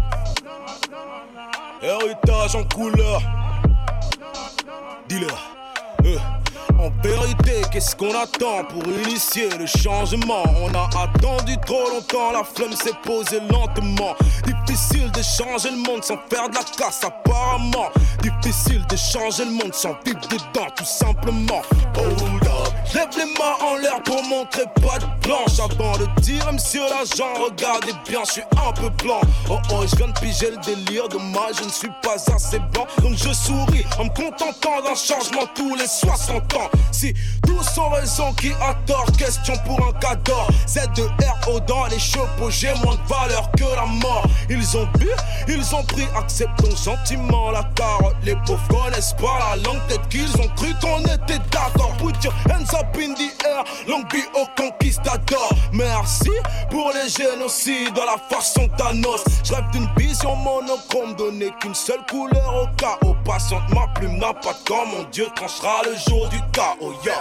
Héritage en couleur. Dis-leur. Euh. En vérité, qu'est-ce qu'on attend pour initier le changement? On a attendu trop longtemps, la flamme s'est posée lentement. Difficile de changer le monde sans faire de la casse apparemment. Difficile de changer le monde sans vivre dedans tout simplement. Hold up, lève les mains en l'air pour montrer pas de blanche. Avant de dire monsieur l'agent, regardez bien, je suis un peu blanc. Oh oh, je viens de piger le délire, dommage je ne suis pas assez blanc. Donc je souris en me contentant d'un changement tous les soixante ans. Si tous ont raison, qui a tort? Question pour un cador. Z deux R O dans les chapeaux, j'ai moins de valeur que la mort. Ils ont bu, ils ont pris, acceptons gentiment la carotte. Les pauvres connaissent pas la langue, peut-être qu'ils ont cru qu'on était d'accord. Put your hands up in the air, longue vie au conquistador. Merci pour les génocides dans la façon Thanos. Je rêve d'une vision monochrome, donner qu'une seule couleur au chaos. Patiente, ma plume n'a pas de camp, mon Dieu tranchera le jour du chaos. Yeah.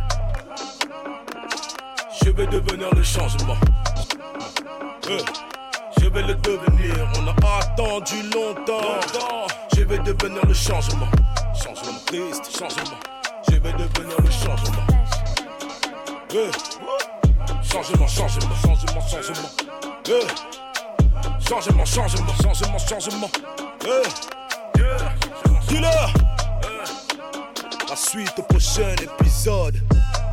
Je vais devenir le changement. Euh, je vais le devenir, on a attendu longtemps. Je vais devenir le changement. Changement triste, changement. Je vais devenir le changement. Euh, changement, changement, changement, changement. Euh, changement, changement, changement, changement. Euh, Killer. La suite au prochain épisode.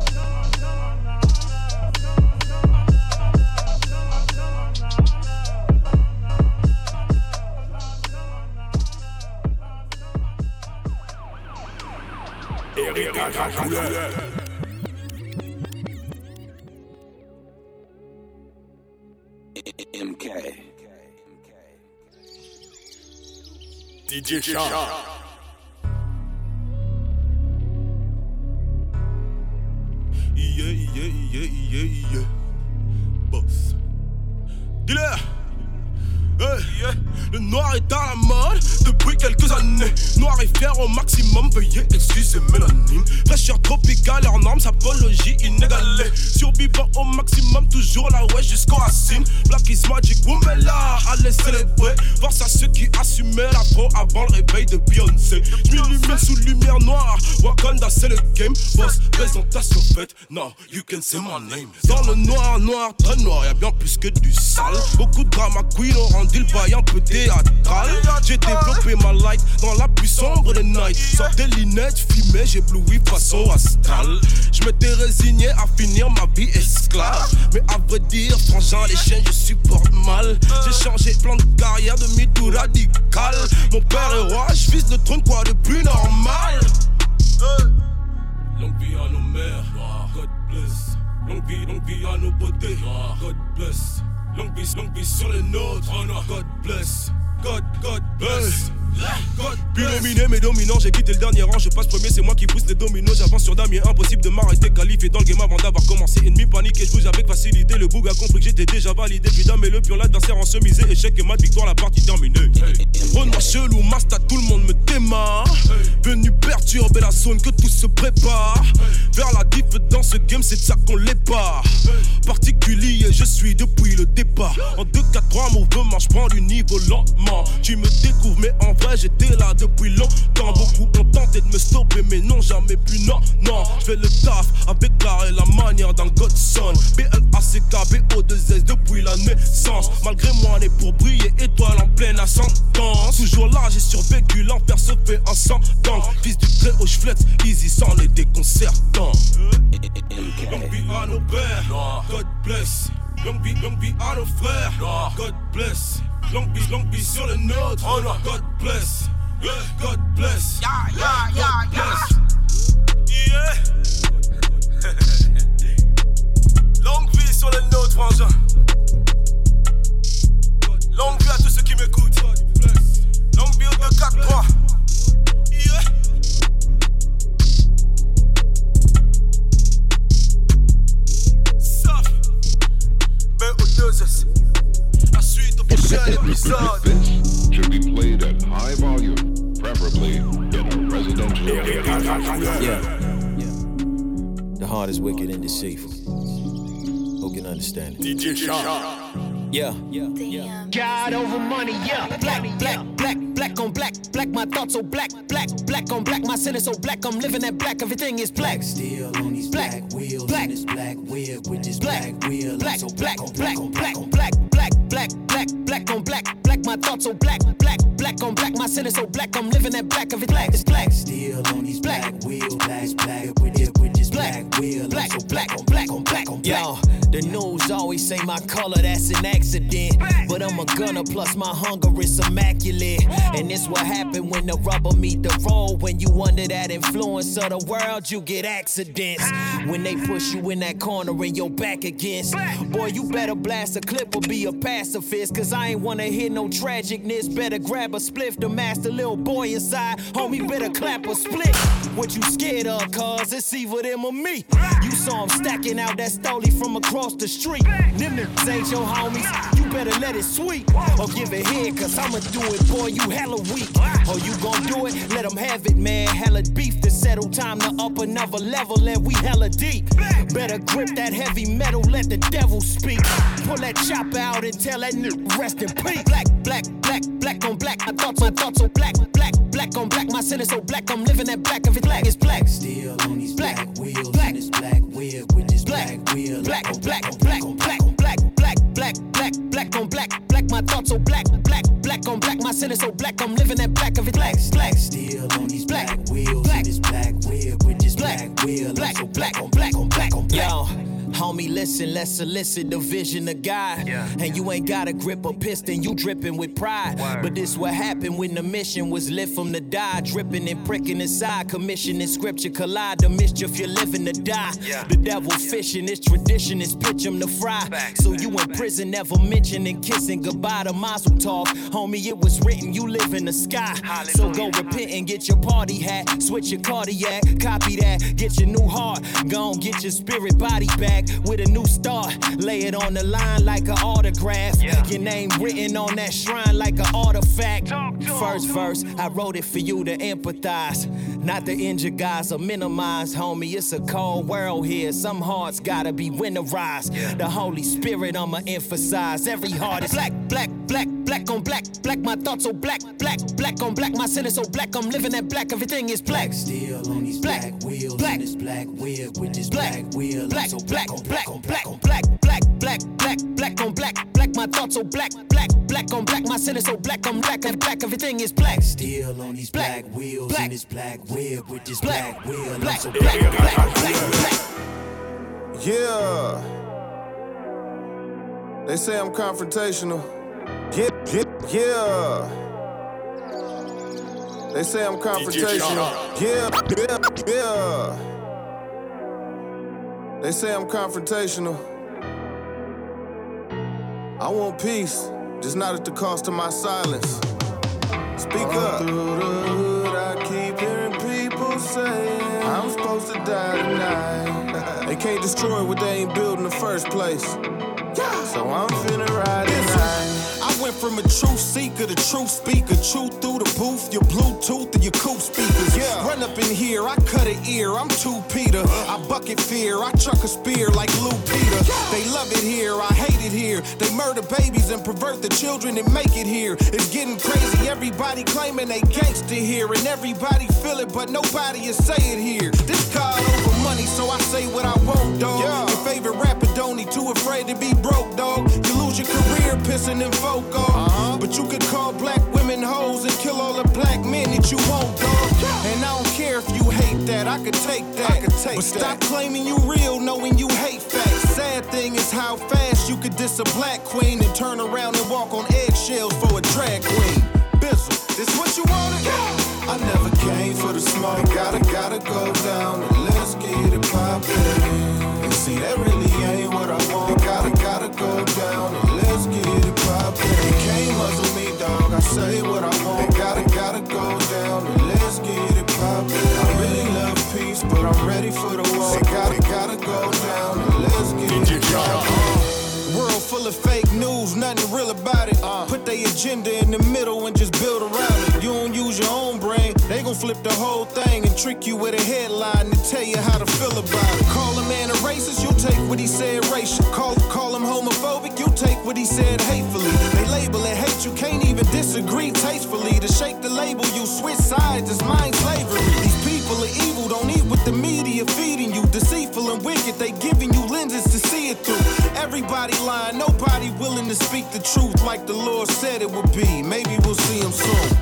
Erika Couleur. M K D J Sean. Yeah, yeah, yeah, yeah, yeah. Boss. Dealer. Hey, yeah. Le noir est à la mode depuis quelques années. Noir et fier au maximum, veuillez excuser mélanine. Fraîcheur tropicale, hors normes, apologie inégalée. Survivant au maximum, toujours la ouais jusqu'au racine. Black is magic, Woumela, allez célébrer. Force à ceux qui assumaient l'afro avant le réveil de Beyoncé. J'm'illumine sous lumière noire, Wakanda c'est le game. Boss, présentation faite, now you can say my name. Dans le noir, noir, très noir, y'a bien plus que du sale. Beaucoup de drama queen ont rendu le bail un peu théâtral. J'ai développé ma light dans la plus sombre des nights. Sortez les lunettes, fumé, j'éblouis façon astrale. J'm'étais résigné à finir ma vie esclave. Mais à vrai dire, frangin, les chiens, je supporte mal. J'ai changé plan de carrière, demi tout radical. Mon père est roi, j'vise le trône, quoi de plus normal. Hey. Longue vie à nos mères, God bless. Longue vie, longue vie à nos beautés, God bless. Longue vie, longue vie sur les nôtres, God bless. God, God bless. God bless. Puis dominé mais dominant, j'ai quitté le dernier rang. Je passe premier, c'est moi qui pousse les dominos. J'avance sur Damien, impossible de m'arrêter. Qualifié dans le game avant d'avoir commencé. Ennemi panique et je bouge avec facilité. Le boug a compris que j'étais déjà validé. Puis dame et le pion, l'adversaire en semisé. Échec et mat, victoire, la partie terminée. Renoir chelou, Masta, tout le monde me démarre. Venu perturber la zone, que tout se prépare. Vers la diff dans ce game, c'est de ça qu'on l'épare. Particulier, je suis depuis le départ. En deux, quatre, trois mouvements, je prends du niveau lentement. Tu me découvres, mais en vrai, j'étais là depuis longtemps. Beaucoup ont tenté de me stopper, mais non, jamais plus, non, non. Je fais le taf avec l'art et la manière d'un Godson. B L A C K, B O deux S depuis la naissance. Malgré moi, né pour briller, étoile en pleine ascendance. Toujours là, j'ai survécu, l'enfer se fait un sang d'angle. Fils du très haut, j'flex, easy sans les déconcertants. Longue vie à nos pères, God bless. Longue vie, longue vie à nos frères, God bless. Longue vie, longue vie sur le nôtre, God bless. Yeah, God bless. Yeah, yeah, yeah, yeah. Yeah. Longue vie sur le nôtre, frangin. Longue vie à tous ceux qui m'écoutent. Longue vie au deux quatre trois. Yeah. Sauf. B O deux S. La suite au prochain épisode. Should be played at high volume, preferably in a residential area. Yeah. Yeah. The heart is wicked and deceitful. Who can understand it? D J Sean. Yeah. Yeah. Yeah. God over money, yeah. Black, black, black, black on black, black. My thoughts so black, black, black on black. My sin is so black. I'm living that black. Everything is black. Still on these black, black wheels, black, this black wheel with this black, black wheel. Black, so black, black, black, on black, black, black, black, black, black, black on black, black. My thoughts so black, black, black on black. My sin is so black. I'm living that black. Everything black is black. Still on these black, black wheels, black, black with this, with this black, black wheel. Black, so black on black on black on black. Yo, the news always say my color, that's an accident. But I'm a gunner, plus my hunger is immaculate. And this what happen when the rubber meet the road. When you under that influence of the world, you get accidents. When they push you in that corner and your back against. Boy, you better blast a clip or be a pacifist. Cause I ain't wanna hear no tragicness. Better grab a spliff to master little boy inside. Homie, better clap or split. What you scared of, cuz it's either them or me. You saw him stacking out that stoley from across the street. Them niggas ain't your homies, you better let it sweep. Or give it here, cause I'ma do it, boy, you hella weak. Or you gon' do it, let them have it, man. Hella beef to settle, time to up another level, and we hella deep. Better grip that heavy metal, let the devil speak. Pull that chopper out and tell that nigga rest in peace. Black, black, black, black on black. My thoughts, my thoughts so black, black, black on black. My sin is so black, I'm living that black. If it's black, it's black. Still on these black, black wheels, black, in this black whip with this black, black wheel. Black, black, black, black, black, black, black, black, black on black, black. My thoughts so black, black, black on black. My sin is so black, I'm living that black. If it's black, black. Still on these black, black wheels, black, in this black whip with this black, black wheel. Black, so black on black on black on black. Yo. Homie, listen, let's solicit the vision of God. Yeah. And you ain't got a grip or piston, you dripping with pride. Word. But this what happened when the mission was lit from the die. Dripping and pricking inside, commissioning scripture collide. The mischief you're living to die. Yeah. The devil fishing, it's tradition, it's pitch him to fry. Back, so back, you in back. Prison, never mentioning kissing goodbye to Mazel Tov. Homie, it was written, you live in the sky. Hallelujah. So go repent and get your party hat. Switch your cardiac, copy that, get your new heart. Go on, get your spirit body back. With a new start, lay it on the line like an autograph. Yeah. Your name written on that shrine like an artifact. First verse, I wrote it for you to empathize. Not to injure guys or minimize, homie. It's a cold world here. Some hearts gotta be winterized. Yeah. The Holy Spirit, I'ma emphasize. Every heart is black, black, black, black on black, black. My thoughts so black, black, black on black. My sin is so black, I'm living that black. Everything is black. Still on these black, black wheels, black, in this black whip with this black, black wheel. Black, so black, black, black, on black, black, black, black, black, black on black, black. My thoughts so black, black, black on black. My sin is so black, I'm black, and black. Everything is black. Still on these black, black wheels, black, in this black whip with this black, black wheel. Black, so black, black, black, black, black, black. Yeah. They say I'm confrontational. Yeah, yeah, yeah. They say I'm confrontational. Yeah, yeah, yeah. They say I'm confrontational. I want peace, just not at the cost of my silence. Speak up. Through the hood, I keep hearing people say I'm supposed to die tonight. They can't destroy what they ain't built in the first place. So I'm finna ride tonight. I went from a truth seeker to truth speaker. Truth through the booth, your Bluetooth and your coupe speakers. Yeah. Run up in here, I cut an ear, I'm two Peter. I bucket fear, I chuck a spear like Lou Peter. They love it here, I hate it here. They murder babies and pervert the children and make it here. It's getting crazy, everybody claiming they gangster here. And everybody feel it, but nobody is say it here. This call over money, so I say what I want, dog. Yeah. Your favorite rapper don't need too afraid to be broke, dog. You lose your career pissing in folk off. Uh-huh. But you could call black women hoes and kill all the black men that you want, dog. Yeah. And I don't care if you hate that, I could take that. I could take but that. Stop claiming you real, knowing you hate facts. Sad thing is how fast you could diss a black queen and turn around and walk on eggshells for a drag queen. Bizzle, this what you wanted? Yeah. I never came for the smoke. Gotta, gotta go down and let's get it poppin'. And see, that really ain't what I want. Gotta, gotta go down and let's get it poppin'. You can't muzzle me, dog. I say what I want. Gotta, gotta go down and let's get it poppin'. I really love peace, but I'm ready for the war. Gotta, gotta go down and let's get it poppin'. World full of fake news, nothing real about it. Uh, Put their agenda in the middle and just build around it. You don't use your own brain, they gon' flip the whole thing and trick you with a headline to tell you how to feel about it. Call a man a racist, you'll take what he said racial. Call, call him homophobic, you'll take what he said hatefully. They label it hate, you can't even disagree tastefully. To shake the label, you switch sides, it's mind slavery. These people are evil, don't eat what the media feeding you. Deceitful and wicked, they giving you lenses to see it through. Everybody lying, nobody willing to speak the truth like the Lord said it would be. Maybe we'll see him soon.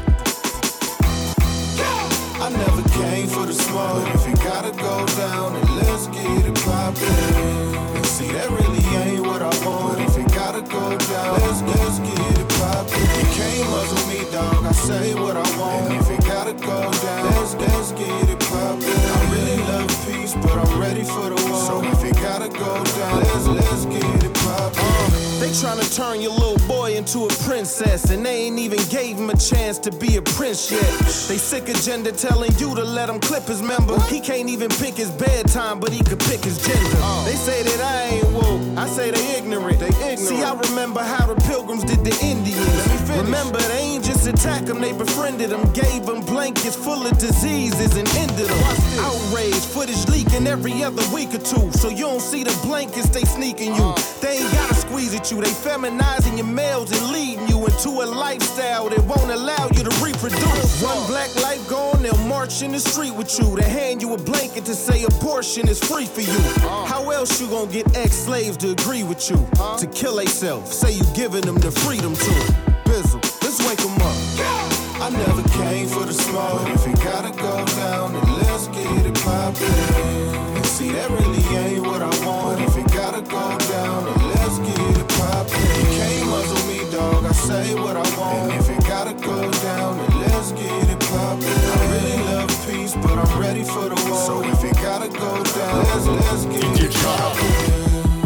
I never came for the smoke, but if you gotta go down, then let's get it poppin'. And see, that really ain't what I want, but if you gotta go down, let's, let's get it poppin'. You can't muzzle me dog. I say what I want. And if it gotta go down, let's, let's get it poppin'. I really love peace, but I'm ready for the war. So if it gotta go down, let's, let's get it poppin'. Uh, they tryna turn your little boy into a princess, and they ain't even gave him a chance to be a prince yet. They sick agenda telling you to let him clip his member. He can't even pick his bedtime, but he could pick his gender. Uh, they say that I ain't woke, I say they ignorant. They ignorant. See, I remember how the pilgrims did the Indians. Remember, they ain't just attack them, they befriended them, gave them blankets full of diseases and ended them. Outrage, footage leaking every other week or two, so you don't see the blankets they sneaking you. Uh, they ain't gotta squeeze at you, they feminizing your males and leading you into a lifestyle that won't allow you to reproduce. One black life gone, they'll march in the street with you. They hand you a blanket to say abortion is free for you. Uh, How else you gonna get ex-slaves to agree with you? Uh, to kill theyself, say you giving them the freedom to. Bizzle, let's wake them up. I never came for the smoke, but if it gotta go down, then let's get it poppin'. And see, that really ain't what I want, but if it gotta go down, then let's get it poppin'. You can't muzzle me, dog, I say what I want. And if it gotta go down, then let's get it poppin'. I really love peace, but I'm ready for the war. So if it gotta go down, let's, let's get it poppin'.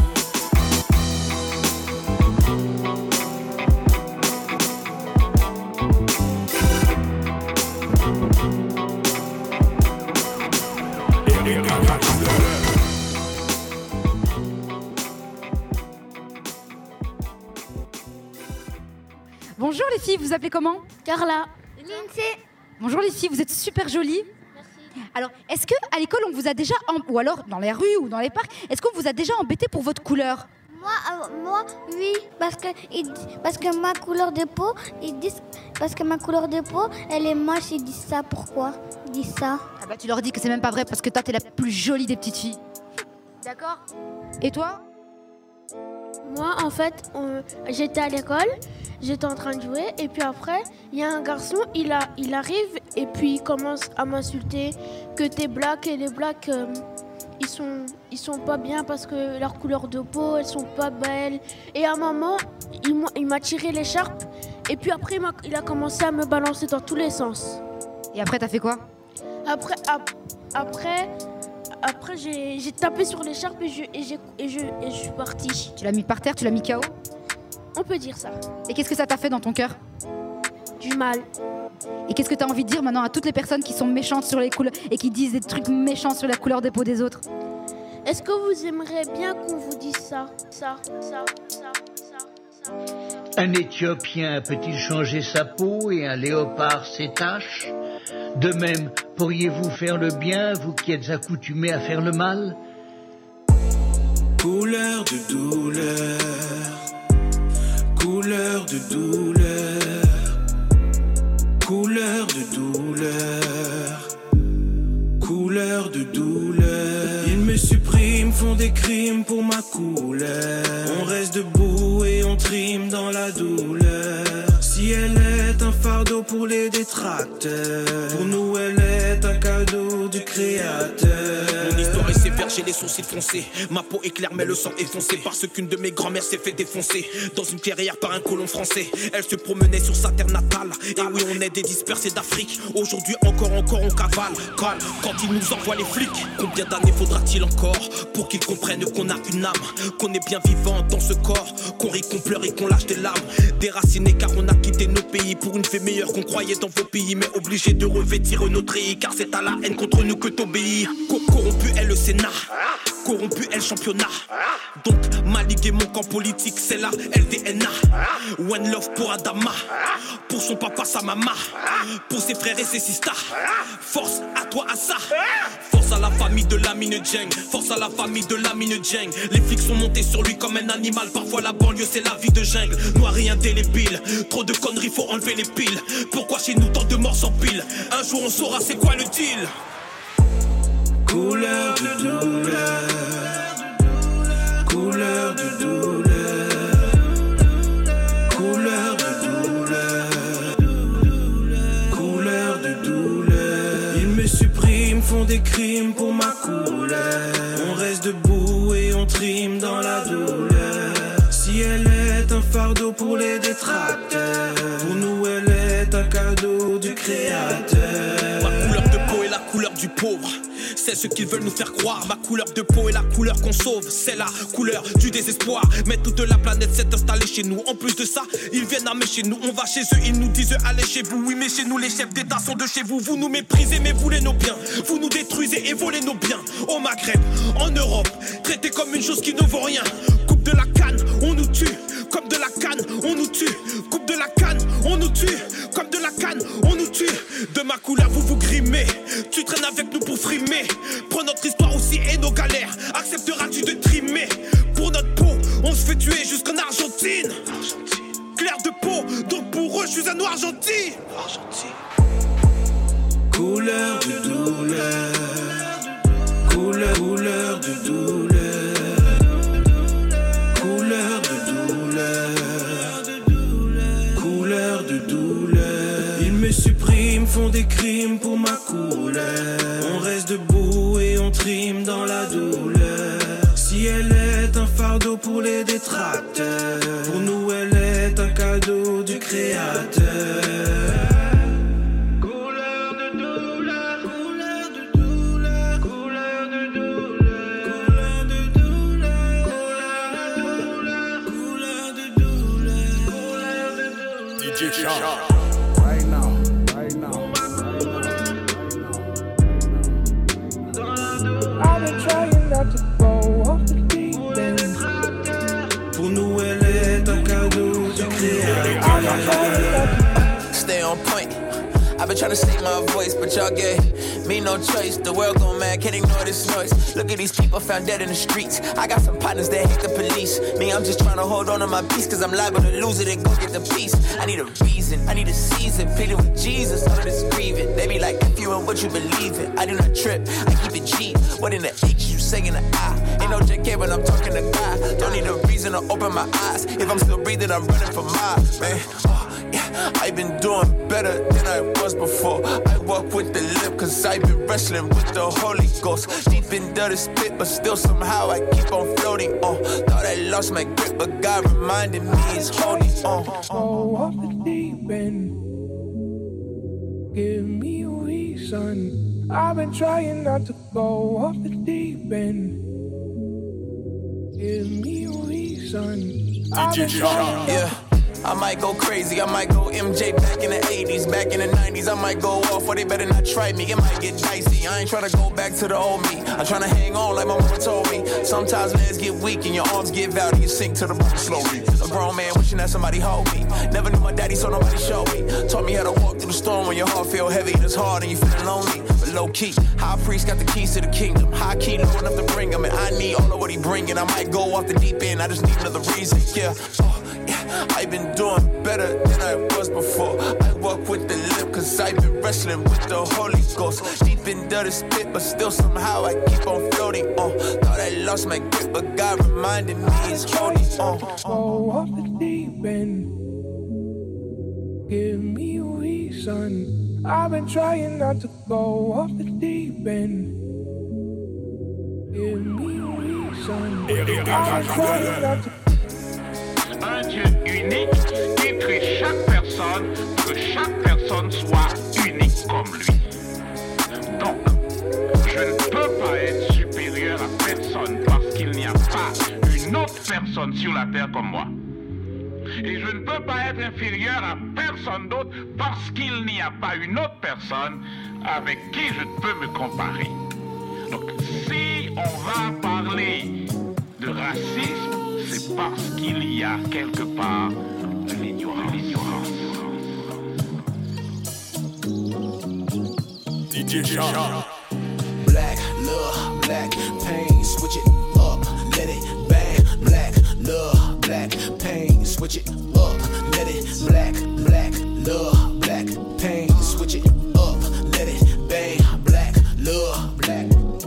Bonjour les filles, vous vous appelez comment? Carla. Lindsay. Bonjour les filles, vous êtes super jolies. Merci. Alors, est-ce qu'à l'école on vous a déjà, em... ou alors dans les rues ou dans les parcs, est-ce qu'on vous a déjà embêté pour votre couleur? Moi, euh, moi, oui, parce que, ils, parce que ma couleur de peau, ils disent, parce que ma couleur de peau, elle est moche, ils disent ça. Pourquoi? Ils disent ça. Ah bah tu leur dis que c'est même pas vrai parce que toi t'es la plus jolie des petites filles. D'accord. Et toi? Moi, en fait, on, j'étais à l'école, j'étais en train de jouer, et puis après, il y a un garçon, il, a, il arrive, et puis il commence à m'insulter que t'es black, et les blacks, euh, ils sont, ils sont pas bien parce que leur couleur de peau, elles sont pas belles. Et à un moment, il m'a, il m'a tiré l'écharpe, et puis après, il, m'a, il a commencé à me balancer dans tous les sens. Et après, t'as fait quoi? Après, ap, après... Après, j'ai, j'ai tapé sur l'écharpe et je, et, j'ai, et, je, et je suis partie. Tu l'as mis par terre, tu l'as mis K O? On peut dire ça. Et qu'est-ce que ça t'a fait dans ton cœur? Du mal. Et qu'est-ce que t'as envie de dire maintenant à toutes les personnes qui sont méchantes sur les couleurs et qui disent des trucs méchants sur la couleur des peaux des autres? Est-ce que vous aimeriez bien qu'on vous dise ça? Ça, ça, ça, ça, ça. Un Éthiopien peut-il changer sa peau et un léopard ses taches? De même, pourriez-vous faire le bien, vous qui êtes accoutumés à faire le mal? Couleur de douleur, couleur de douleur, couleur de douleur, couleur de douleur. Ils me suppriment, font des crimes pour ma couleur. On reste debout et on trime dans la douleur. Si elle est un fardeau pour les détracteurs, pour nous elle est un cadeau du créateur. Mon histoire est sévère, j'ai les sourcils foncés. Ma peau est claire mais le sang est foncé, parce qu'une de mes grand-mères s'est fait défoncer dans une clairière par un colon français. Elle se promenait sur sa terre natale. Et oui, on est des dispersés d'Afrique. Aujourd'hui encore, encore on cavale. Quand, quand ils nous envoient les flics, combien d'années faudra-t-il encore pour qu'ils comprennent qu'on a une âme, qu'on est bien vivant dans ce corps, qu'on rit, qu'on pleure et qu'on lâche des larmes. Déracinés car on a quitté nos pays pour une vie meilleure qu'on croyait dans vos pays, mais obligé de revêtir notre treillis, car c'est à la haine contre nous que t'obéis. Co- corrompu est le Sénat, corrompu est le championnat. Donc ma ligue et mon camp politique, c'est la L D N A. One love pour Adama, pour son papa, sa maman, pour ses frères et ses sisters. Force à toi, à ça. Force à la famille de Lamine Dieng, force à la famille de Lamine Dieng. Les flics sont montés sur lui comme un animal. Parfois la banlieue c'est la vie de jungle. Noir et indélébile, trop de conneries, faut enlever les piles. Pourquoi chez nous tant de morts s'empilent? Un jour on saura c'est quoi le deal. Couleur de douleur, couleur de douleur, couleur de douleur, couleur de douleur. Ils me suppriment, font des crimes pour ma couleur. On reste debout et on trime dans la douleur. Si elle est un fardeau pour les détracteurs, pour nous elle est un créateur. Ma couleur de peau est la couleur du pauvre. C'est ce qu'ils veulent nous faire croire. Ma couleur de peau est la couleur qu'on sauve. C'est la couleur du désespoir. Mais toute la planète s'est installée chez nous. En plus de ça, ils viennent armer chez nous. On va chez eux, ils nous disent allez chez vous. Oui, mais chez nous, les chefs d'État sont de chez vous. Vous nous méprisez, mais voulez nos biens. Vous nous détruisez et volez nos biens. Au Maghreb, en Europe, traités comme une chose qui ne vaut rien. Coupe de la canne, on nous tue. Comme de la canne, on nous tue. Coupe de la canne, on nous tue. Comme de la canne, on nous tue. De ma couleur, vous vous grimez. Tu traînes avec nous pour frimer. Prends notre histoire aussi et nos galères. Accepteras-tu de trimer? Pour notre peau, on se fait tuer jusqu'en Argentine. Clair de peau, donc pour eux, je suis un noir gentil. Couleur de douleur. Couleur, couleur de douleur. Couleur de douleur. Couleur de douleur. Ils me suppriment, font des crimes pour ma couleur. On reste debout et on trime dans la douleur. Si elle est un fardeau pour les détracteurs, pour nous elle est un cadeau du créateur. Right now, right now. I've been trying not to go off the deep end. Pour nous, elle est un cadeau du créateur. Stay on point. I've been trying to save my voice, but y'all gave me no choice. The world gon' mad, can't ignore this noise. Look at these people found dead in the streets. I got some partners that hate the police. Me, I'm just trying to hold on to my peace, cause I'm liable to lose it and go get the peace. I need a reason, I need a season, pleading with Jesus, all of this grieving. They be like, if you in what you believe in, I do not trip, I keep it G. What in the H, you say in the I? Ain't no J K when I'm talking to God. Don't need a reason to open my eyes. If I'm still breathing, I'm running for mine, man. Yeah, I've been doing better than I was before. I walk with the limp cause I've been wrestling with the Holy Ghost. Deep into the spit, but still somehow I keep on floating on. Thought I lost my grip, but God reminded me it's holding on. Go off the deep end. Give me a reason. I've been trying not to go off the deep end. Give me a reason. D J Sean. Yeah. I might go crazy, I might go M J back in the eighties, back in the nineties, I might go off, or they better not try me, it might get dicey. I ain't tryna go back to the old me, I'm tryna hang on like my mama told me. Sometimes legs get weak and your arms give out and you sink to the bone slowly. A grown man wishing that somebody hold me. Never knew my daddy, so nobody showed me. Taught me how to walk through the storm when your heart feel heavy and it's hard and you feeling lonely. But low key, high priest got the keys to the kingdom. High key, low enough to bring him, and I need all of what he bringing. I might go off the deep end, I just need another reason, yeah. Oh, yeah, I've been doing better than I was before. I walk with the limp cause I've been wrestling with the Holy Ghost. Deep into the spit, but still somehow I keep on floating on. Thought I lost my grip, but God reminded me it's holding on. Go off the deep end. Give me a reason. I've been trying not to go off the deep end. Give me a reason. I've been trying not to. Un Dieu unique qui crée chaque personne, que chaque personne soit unique comme lui. Donc, je ne peux pas être supérieur à personne parce qu'il n'y a pas une autre personne sur la terre comme moi. Et je ne peux pas être inférieur à personne d'autre parce qu'il n'y a pas une autre personne avec qui je ne peux me comparer. Donc, si on va parler de racisme, c'est parce qu'il y a quelque part de l'ignorance. D J Sean. Black, love, black, pain, switch it up, let it bang. Black, love, black, pain, switch it up, let it black, black, love, black, pain, switch it up, let it bang. Black, love, black.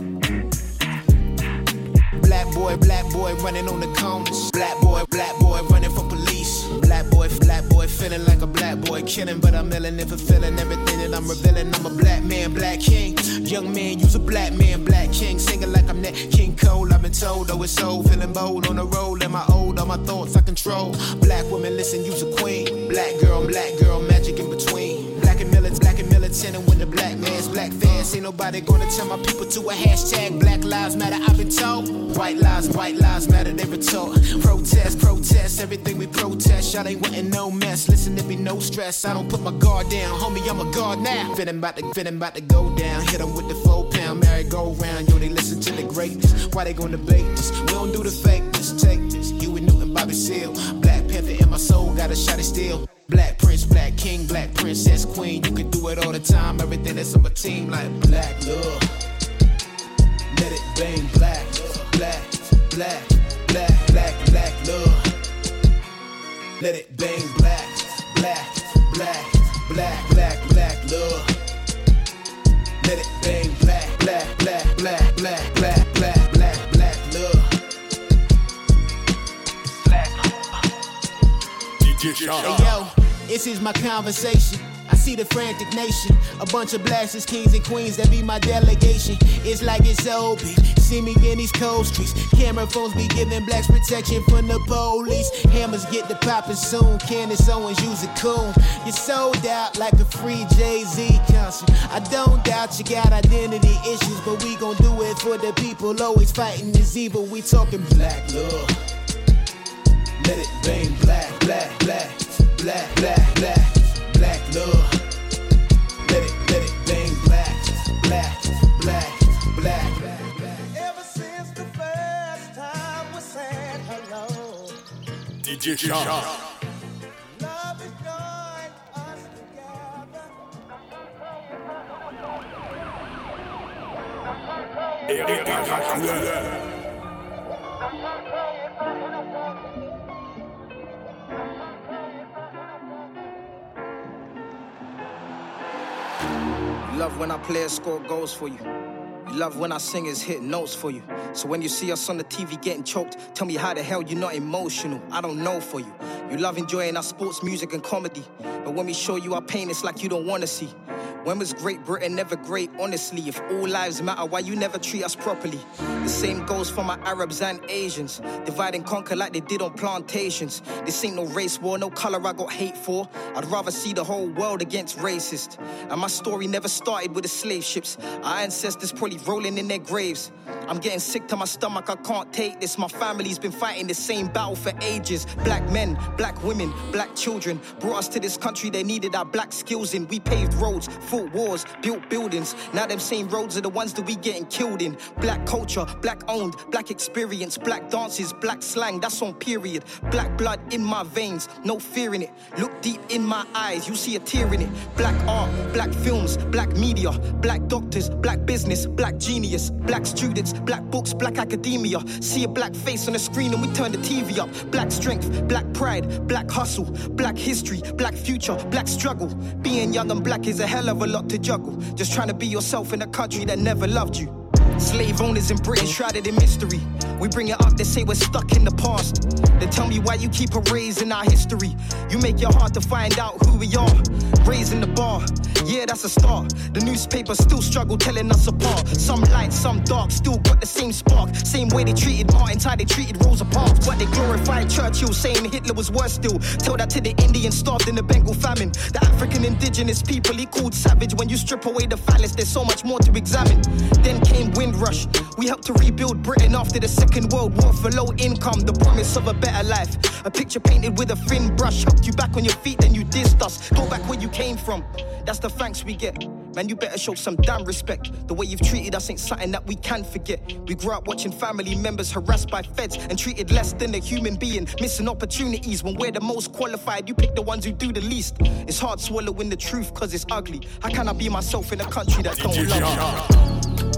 Black boy, black boy running on the corners. Black boy, black boy running from police. Black boy, black boy feeling like a black boy killing, but I'm illin' and fulfilling everything that I'm revealing. I'm a black man, black king. Young man, you's a black man, black king. Singing like I'm that King Cole. I've been told, oh, it's so feeling bold on the road. Am I old? All my thoughts I control. Black woman, listen, you's a queen. Black girl, black girl, magic in between. Black and millions, black and millions. pretending when the black man's black fast. Ain't nobody gonna tell my people to a hashtag Black Lives Matter. I've been told white lives, white lives matter. They were taught protest, protest, everything we protest. Y'all ain't wanting no mess. Listen, there be no stress. I don't put my guard down, homie. I'm a guard now. Feeling about to, feeling about to go down. Hit them with the four pound merry go round. Yo, they listen to the greatness. Why they gonna debate this? We don't do the fake. Just take this. You and Newton, Bobby Seale. Black Panther in my soul, got a shot of steel. Black Prince, Black King, Black Princess, Queen. You can do it all the time. Everything that's on my team, like black love. Let it bang, black, black, black, black, black, black love. Let it bang, black, black, black, black, black, black love. Let it bang, black, black, black, black, black, black, black, black, black love. Hey yo, this is my conversation. I see the frantic nation, a bunch of blasters, kings and queens that be my delegation. It's like it's open, see me in these cold streets. Camera phones be giving blacks protection from the police. Hammers get the poppin' soon, Candace Owens use a coon. You're sold out like a free Jay-Z concert. I don't doubt you got identity issues, but we gon' do it for the people always fighting this evil. We talking black love. Let it bang, black, black, black, black, black, black. Black love, let it, let it bang, black, black, black, black, black. Ever since the first time we said hello, D J Sean. Love is joined us together. Eric Dracula. You love when I play score goals for you. You love when I sing his hit notes for you. So when you see us on the T V getting choked, tell me how the hell you're not emotional. I don't know for you. You love enjoying our sports, music and comedy. But when we show you our pain, it's like you don't want to see. When was Great Britain never great, honestly? If all lives matter, why you never treat us properly? The same goes for my Arabs and Asians. Divide and conquer like they did on plantations. This ain't no race war, no color I got hate for. I'd rather see the whole world against racist. And my story never started with the slave ships. Our ancestors probably rolling in their graves. I'm getting sick to my stomach, I can't take this. My family's been fighting the same battle for ages. Black men, black women, black children brought us to this country, they needed our black skills in. We paved roads, fought wars, built buildings. Now them same roads are the ones that we getting killed in. Black culture, black owned, black experience, black dances, black slang, that's on period. Black blood in my veins, no fear in it. Look deep in my eyes, you see a tear in it. Black art, black films, black media, black doctors, black business, black genius, black students, black books, black academia. See a black face on the screen and we turn the T V up. Black strength, black pride, black hustle, black history, black future, black struggle. Being young and black is a hell of a lot to juggle. Just trying to be yourself in a country that never loved you. Slave owners in Britain shrouded in mystery. We bring it up, they say we're stuck in the past. They tell me why you keep erasing our history. You make it hard to find out who we are. Raising the bar, yeah, that's a start. The newspapers still struggle telling us apart. Some light, some dark, still got the same spark. Same way they treated Martin, how they treated Rosa Parks. But they glorified Churchill, saying Hitler was worse still. Tell that to the Indians starved in the Bengal famine. The African indigenous people he called savage. When you strip away the phallus, there's so much more to examine. Then came Windrush. We helped to rebuild Britain after the Second World War for low income. The promise of a better life. A picture painted with a thin brush. Helped you back on your feet, then you dissed us. Go back where you came from. That's the thanks we get. Man, you better show some damn respect. The way you've treated us ain't something that we can forget. We grew up watching family members harassed by feds and treated less than a human being. Missing opportunities when we're the most qualified. You pick the ones who do the least. It's hard swallowing the truth cause it's ugly. How can I be myself in a country that don't love me?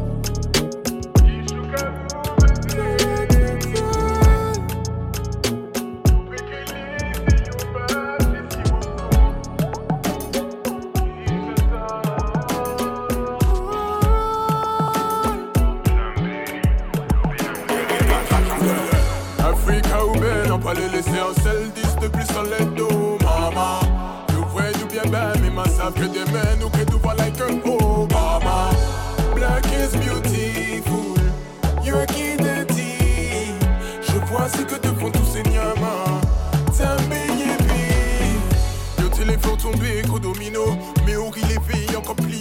Pas les laisser en selle, dix de plus en les dos, maman. Tu vois du bien ben, mais ma savent que des men ou que tu vois like a Obama. Black is beautiful, you're a kidney. Je vois ce que te font tous ces nyamas. T'as payé pire. Yo téléphone tombé, qu'au domino. Mais où il est payé encore plus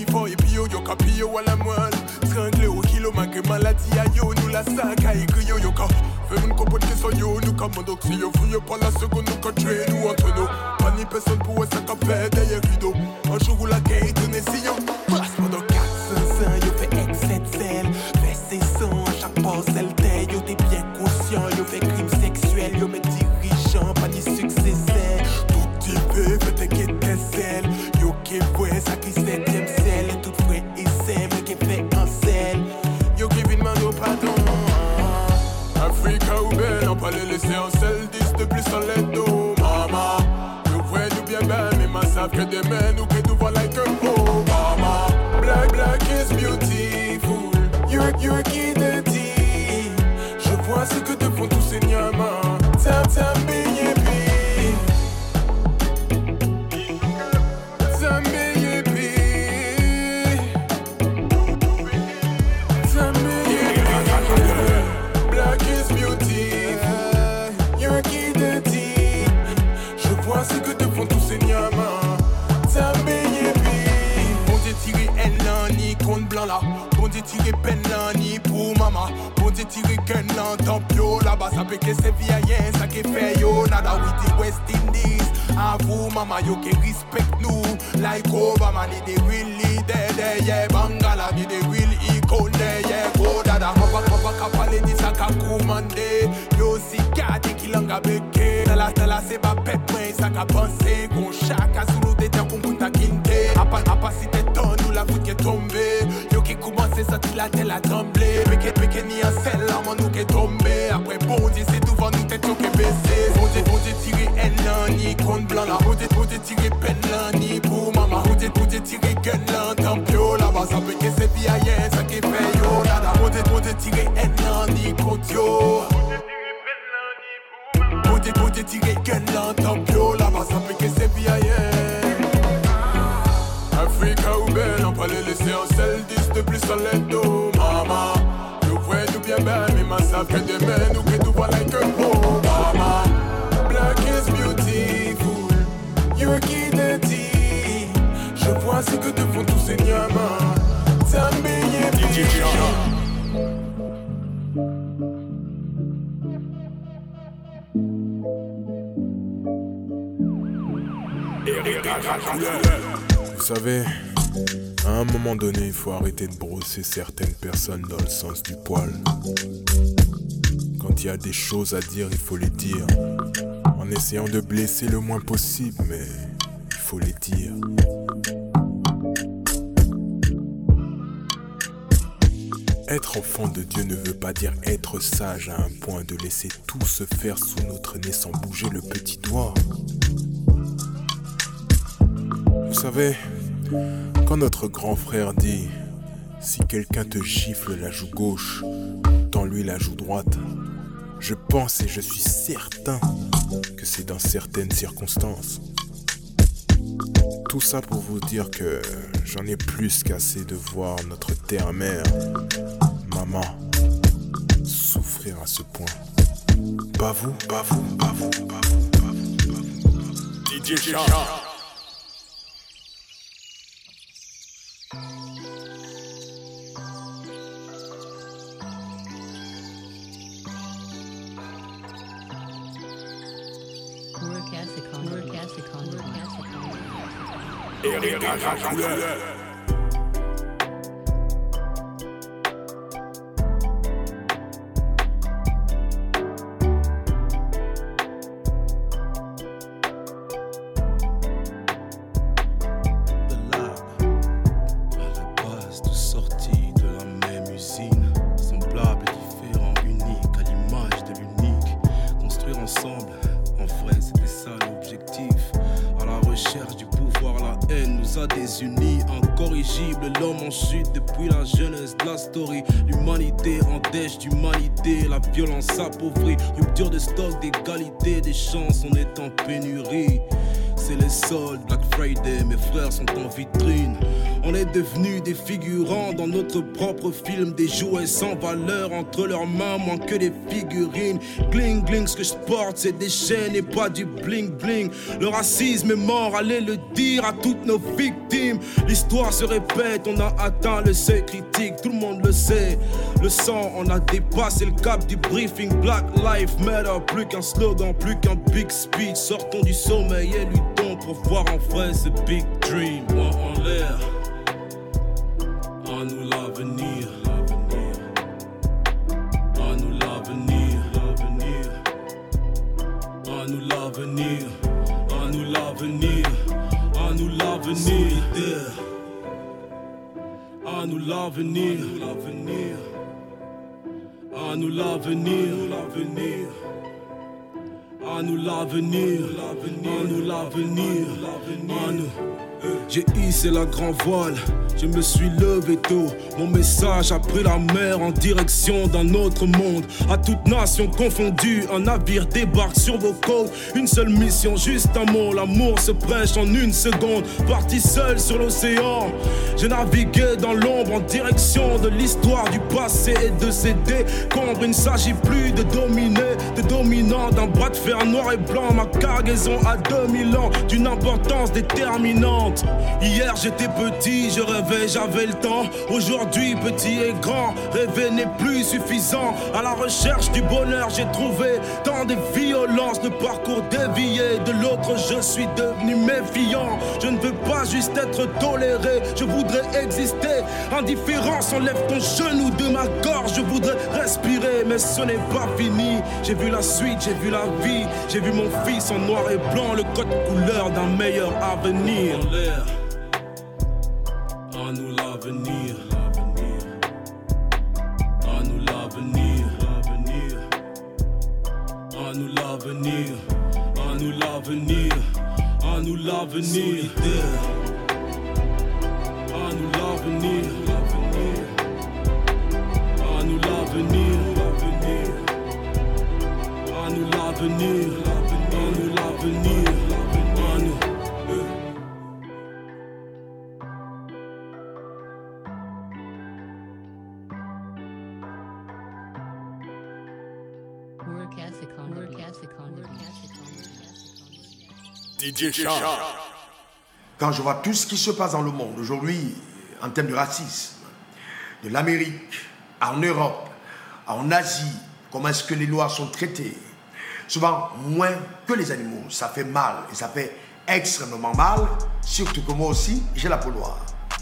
papillon à la moelle. Tringlé au kilo, manque maladie à yo. Nous la sac à écrire yo yoka. Fais une compote qui sont yo. Nous commandons oxy, yo fouille pas la seconde. Nous contrôlons nous entre nous. Pas ni personne pour ça qu'a fait derrière rideau. Un jour où la gate tenait si yo. Place pendant quatre cents ans, yo fait X sept L. Fais ses sons à chaque parcelle taille. Yo t'es bien conscient, yo fait crime sexuel. Yo met dirigeant, pas ni succès. Tout type fait t'inquiète tes selles. Yo qui voit ça qui septième sel. Et tout frais et c'est mais qui fait un sel. Yo qui vit demande au pardon. Africa ou belle, on peut les laisser en sel. dix de plus en l'aide d'eau, mama. Nous voyons nous bien belle, mais ma savent que des men ou que tout va like a oh, mama. Black, black is beautiful. You're, you're identity. Je vois ce que te font tous ces niamas. Tam, tam, baby. C'est que te font tous ces niamas. T'as payé pire. Bon Dieu tiré elle là, ni compte blanc là. Bon Dieu tiré peine là, ni pour maman. Bon Dieu tiré gun là, tant pio là-bas. Ça peut que c'est vieillien, ça qui fait yo. Nada with the West Indies. À vous maman, yo qui respect nous. Like Obama, ni des real leaders. Yeah, Bangala, ni des real icons. Yeah, go dada. Papa, papa, kapale, ni ça ka commandé. Yo si gade qui l'anga beke. Tala, tala, c'est pas pep, mais ça ka pensé. Qu'on chaka sous l'eau d'état qu'on compte à quinte. A pas, a pas si t'es ton, nous la voûte qui est tombée. Yo qui commence, ça qui la telle a tremblé. Peke, peke, ni un sel, là, moi nous qui est tombé. Après, bon Dieu, c'est devant nous, tête yo qui est baissé. Bon Dieu, bon Dieu, tiré haine là, ni compte blanc là. Bon Dieu, bon Dieu, tiré peine là, ni pour maman. Bon Dieu, bon Dieu, tiré gun là, tant pio là-bas. Ça peut que c'est vieillien, ça qui fait yo, nada. Bon Dieu, bon Dieu, tiré haine là, ni contre yo. Beauté, beauté, tiré gun là, tant pio là-bas, ça fait que c'est bien. Africa ou belle, on peut les laisser en sel, dix de plus en l'aide d'eau, mama. Nous voyons nous bien belle, mais ma savent que des men, nous que tout va like a oh, mama. Black is beautiful, you're identity. Je vois ce que te font tous ces niamas. T'as payé D J Vous savez, à un moment donné, il faut arrêter de brosser certaines personnes dans le sens du poil. Quand il y a des choses à dire, il faut les dire. En essayant de blesser le moins possible, mais il faut les dire. Être enfant de Dieu ne veut pas dire être sage à un point de laisser tout se faire sous notre nez sans bouger le petit doigt. Vous savez, quand notre grand frère dit « Si quelqu'un te gifle la joue gauche, tends-lui la joue droite », je pense et je suis certain que c'est dans certaines circonstances. Tout ça pour vous dire que j'en ai plus qu'assez de voir notre terre-mère, maman, souffrir à ce point. Pas vous, pas vous, pas vous, pas vous, pas vous, pas vous. D J Charles. Eric Couleur. L'humanité en dèche d'humanité, la violence appauvrie, rupture de stock d'égalité, des chances, on est en pénurie. c'est les soldes. Black Friday, mes frères sont en vitrine. On est devenus des figurants dans notre propre film. Des jouets sans valeur entre leurs mains, moins que des figurines. Gling gling, ce que je porte c'est des chaînes et pas du bling bling. Le racisme est mort, allez le dire à toutes nos victimes. L'histoire se répète, on a atteint le seuil critique, tout le monde le sait. Le sang, on a dépassé le cap du briefing. Black Lives Matter, plus qu'un slogan, plus qu'un big speech. Sortons du sommeil et luttons pour voir en vrai ce big dream. Moi en l'air, à nous l'avenir. À nous l'avenir. À nous l'avenir. À nous l'avenir. À nous l'avenir. Solidaire. À nous l'avenir. À nous l'avenir. À nous l'avenir. À nous l'avenir. À nous. J'ai hissé la grand voile, je me suis levé tôt. Mon message a pris la mer en direction d'un autre monde. À toute nation confondue, un navire débarque sur vos côtes. Une seule mission, juste un mot, l'amour se prêche en une seconde. Parti seul sur l'océan, j'ai navigué dans l'ombre en direction de l'histoire du passé et de ses décombres. Il ne s'agit plus de dominer, de dominant, d'un bras de fer noir et blanc. Ma cargaison a deux mille ans, d'une importance déterminante. Hier j'étais petit, je rêvais, j'avais le temps. Aujourd'hui petit et grand, rêver n'est plus suffisant. À la recherche du bonheur j'ai trouvé tant de violences. Le parcours dévié de l'autre, je suis devenu méfiant. Je ne veux pas juste être toléré, je voudrais exister. Indifférence, enlève ton genou de ma gorge. Je voudrais respirer, mais ce n'est pas fini. J'ai vu la suite, j'ai vu la vie. J'ai vu mon fils en noir et blanc, le code couleur d'un meilleur avenir. À nous l'avenir. À nous l'avenir. À nous l'avenir. À nous l'avenir. À nous l'avenir. À nous l'avenir. À nous l'avenir. À nous l'avenir. À nous l'avenir. À nous. D J Shark. Quand je vois tout ce qui se passe dans le monde aujourd'hui, en termes de racisme, de l'Amérique, en Europe, en Asie, comment est-ce que les noirs sont traités, souvent moins que les animaux, ça fait mal, et ça fait extrêmement mal, surtout que moi aussi, j'ai la peau noire.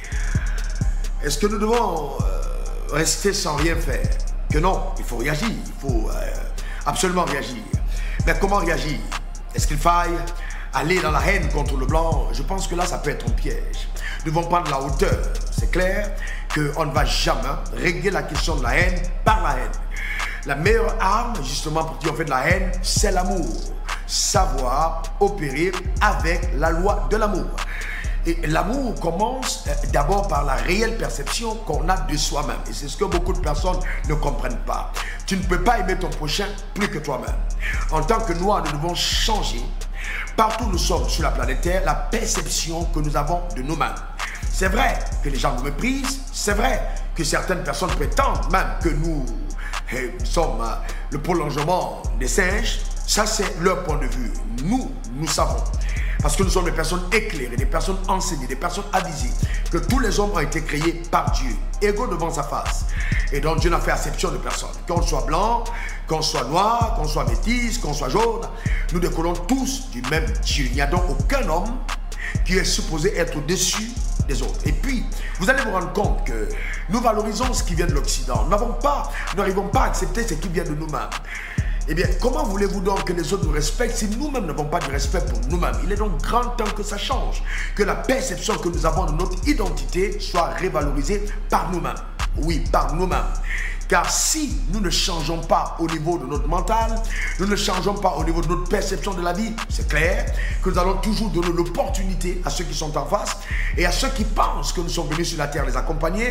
Est-ce que nous devons euh, rester sans rien faire? Que non, il faut réagir, il faut euh, absolument réagir. Mais comment réagir? Est-ce qu'il faille aller dans la haine contre le blanc? Je pense que là, ça peut être un piège. Nous devons prendre la hauteur. C'est clair qu'on ne va jamais régler la question de la haine par la haine. La meilleure arme, justement, pour triompher de la haine, c'est l'amour. Savoir opérer avec la loi de l'amour. Et l'amour commence d'abord par la réelle perception qu'on a de soi-même. Et c'est ce que beaucoup de personnes ne comprennent pas. Tu ne peux pas aimer ton prochain plus que toi-même. En tant que noirs, nous devons changer, partout où nous sommes sur la planète Terre, la perception que nous avons de nous-mêmes. C'est vrai que les gens nous méprisent, c'est vrai que certaines personnes prétendent même que nous, eh, sommes euh, le prolongement des singes. Ça, c'est leur point de vue. Nous, nous savons. Parce que nous sommes des personnes éclairées, des personnes enseignées, des personnes avisées, que tous les hommes ont été créés par Dieu, égaux devant sa face. Et donc Dieu n'a fait acception de personne. Qu'on soit blanc, qu'on soit noir, qu'on soit métis, qu'on soit jaune, nous décollons tous du même Dieu. Il n'y a donc aucun homme qui est supposé être au-dessus des autres. Et puis, vous allez vous rendre compte que nous valorisons ce qui vient de l'Occident. Nous n'avons pas, nous n'arrivons pas à accepter ce qui vient de nous-mêmes. Eh bien, comment voulez-vous donc que les autres nous respectent si nous-mêmes n'avons pas de respect pour nous-mêmes? Il est donc grand temps que ça change, que la perception que nous avons de notre identité soit révalorisée par nous-mêmes. Oui, par nous-mêmes. Car si nous ne changeons pas au niveau de notre mental, nous ne changeons pas au niveau de notre perception de la vie, c'est clair que nous allons toujours donner l'opportunité à ceux qui sont en face et à ceux qui pensent que nous sommes venus sur la terre les accompagner,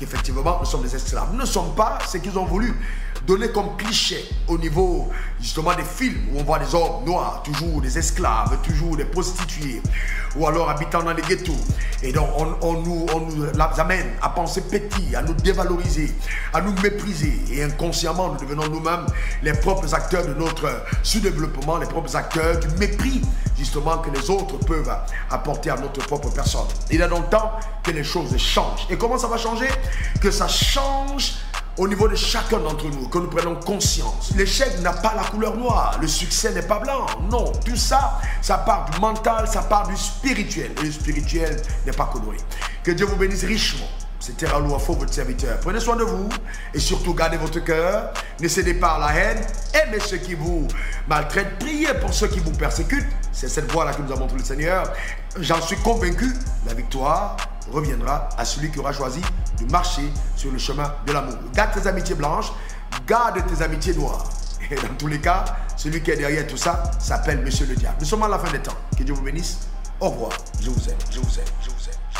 qu'effectivement nous sommes des esclaves. Nous ne sommes pas ce qu'ils ont voulu donner comme cliché au niveau justement des films où on voit des hommes noirs, toujours des esclaves, toujours des prostituées, ou alors habitant dans les ghettos. Et donc on, on, nous, on nous amène à penser petit, à nous dévaloriser, à nous mépriser. Et inconsciemment, nous devenons nous-mêmes les propres acteurs de notre sous-développement, les propres acteurs du mépris justement que les autres peuvent apporter à notre propre personne. Il est donc temps que les choses changent. Et comment ça va changer? Que ça change au niveau de chacun d'entre nous, que nous prenons conscience. L'échec n'a pas la couleur noire, le succès n'est pas blanc. Non, tout ça, ça part du mental, ça part du spirituel. Et le spirituel n'est pas coloré. Que Dieu vous bénisse richement. C'était Raoul Wafo, votre serviteur. Prenez soin de vous et surtout gardez votre cœur. Ne cédez pas à la haine. Aimez ceux qui vous maltraitent. Priez pour ceux qui vous persécutent. C'est cette voie-là que nous a montré le Seigneur. J'en suis convaincu, la victoire reviendra à celui qui aura choisi de marcher sur le chemin de l'amour. Garde tes amitiés blanches, garde tes amitiés noires. Et dans tous les cas, celui qui est derrière tout ça s'appelle Monsieur le Diable. Nous sommes à la fin des temps. Que Dieu vous bénisse. Au revoir. Je vous aime, je vous aime, je vous aime.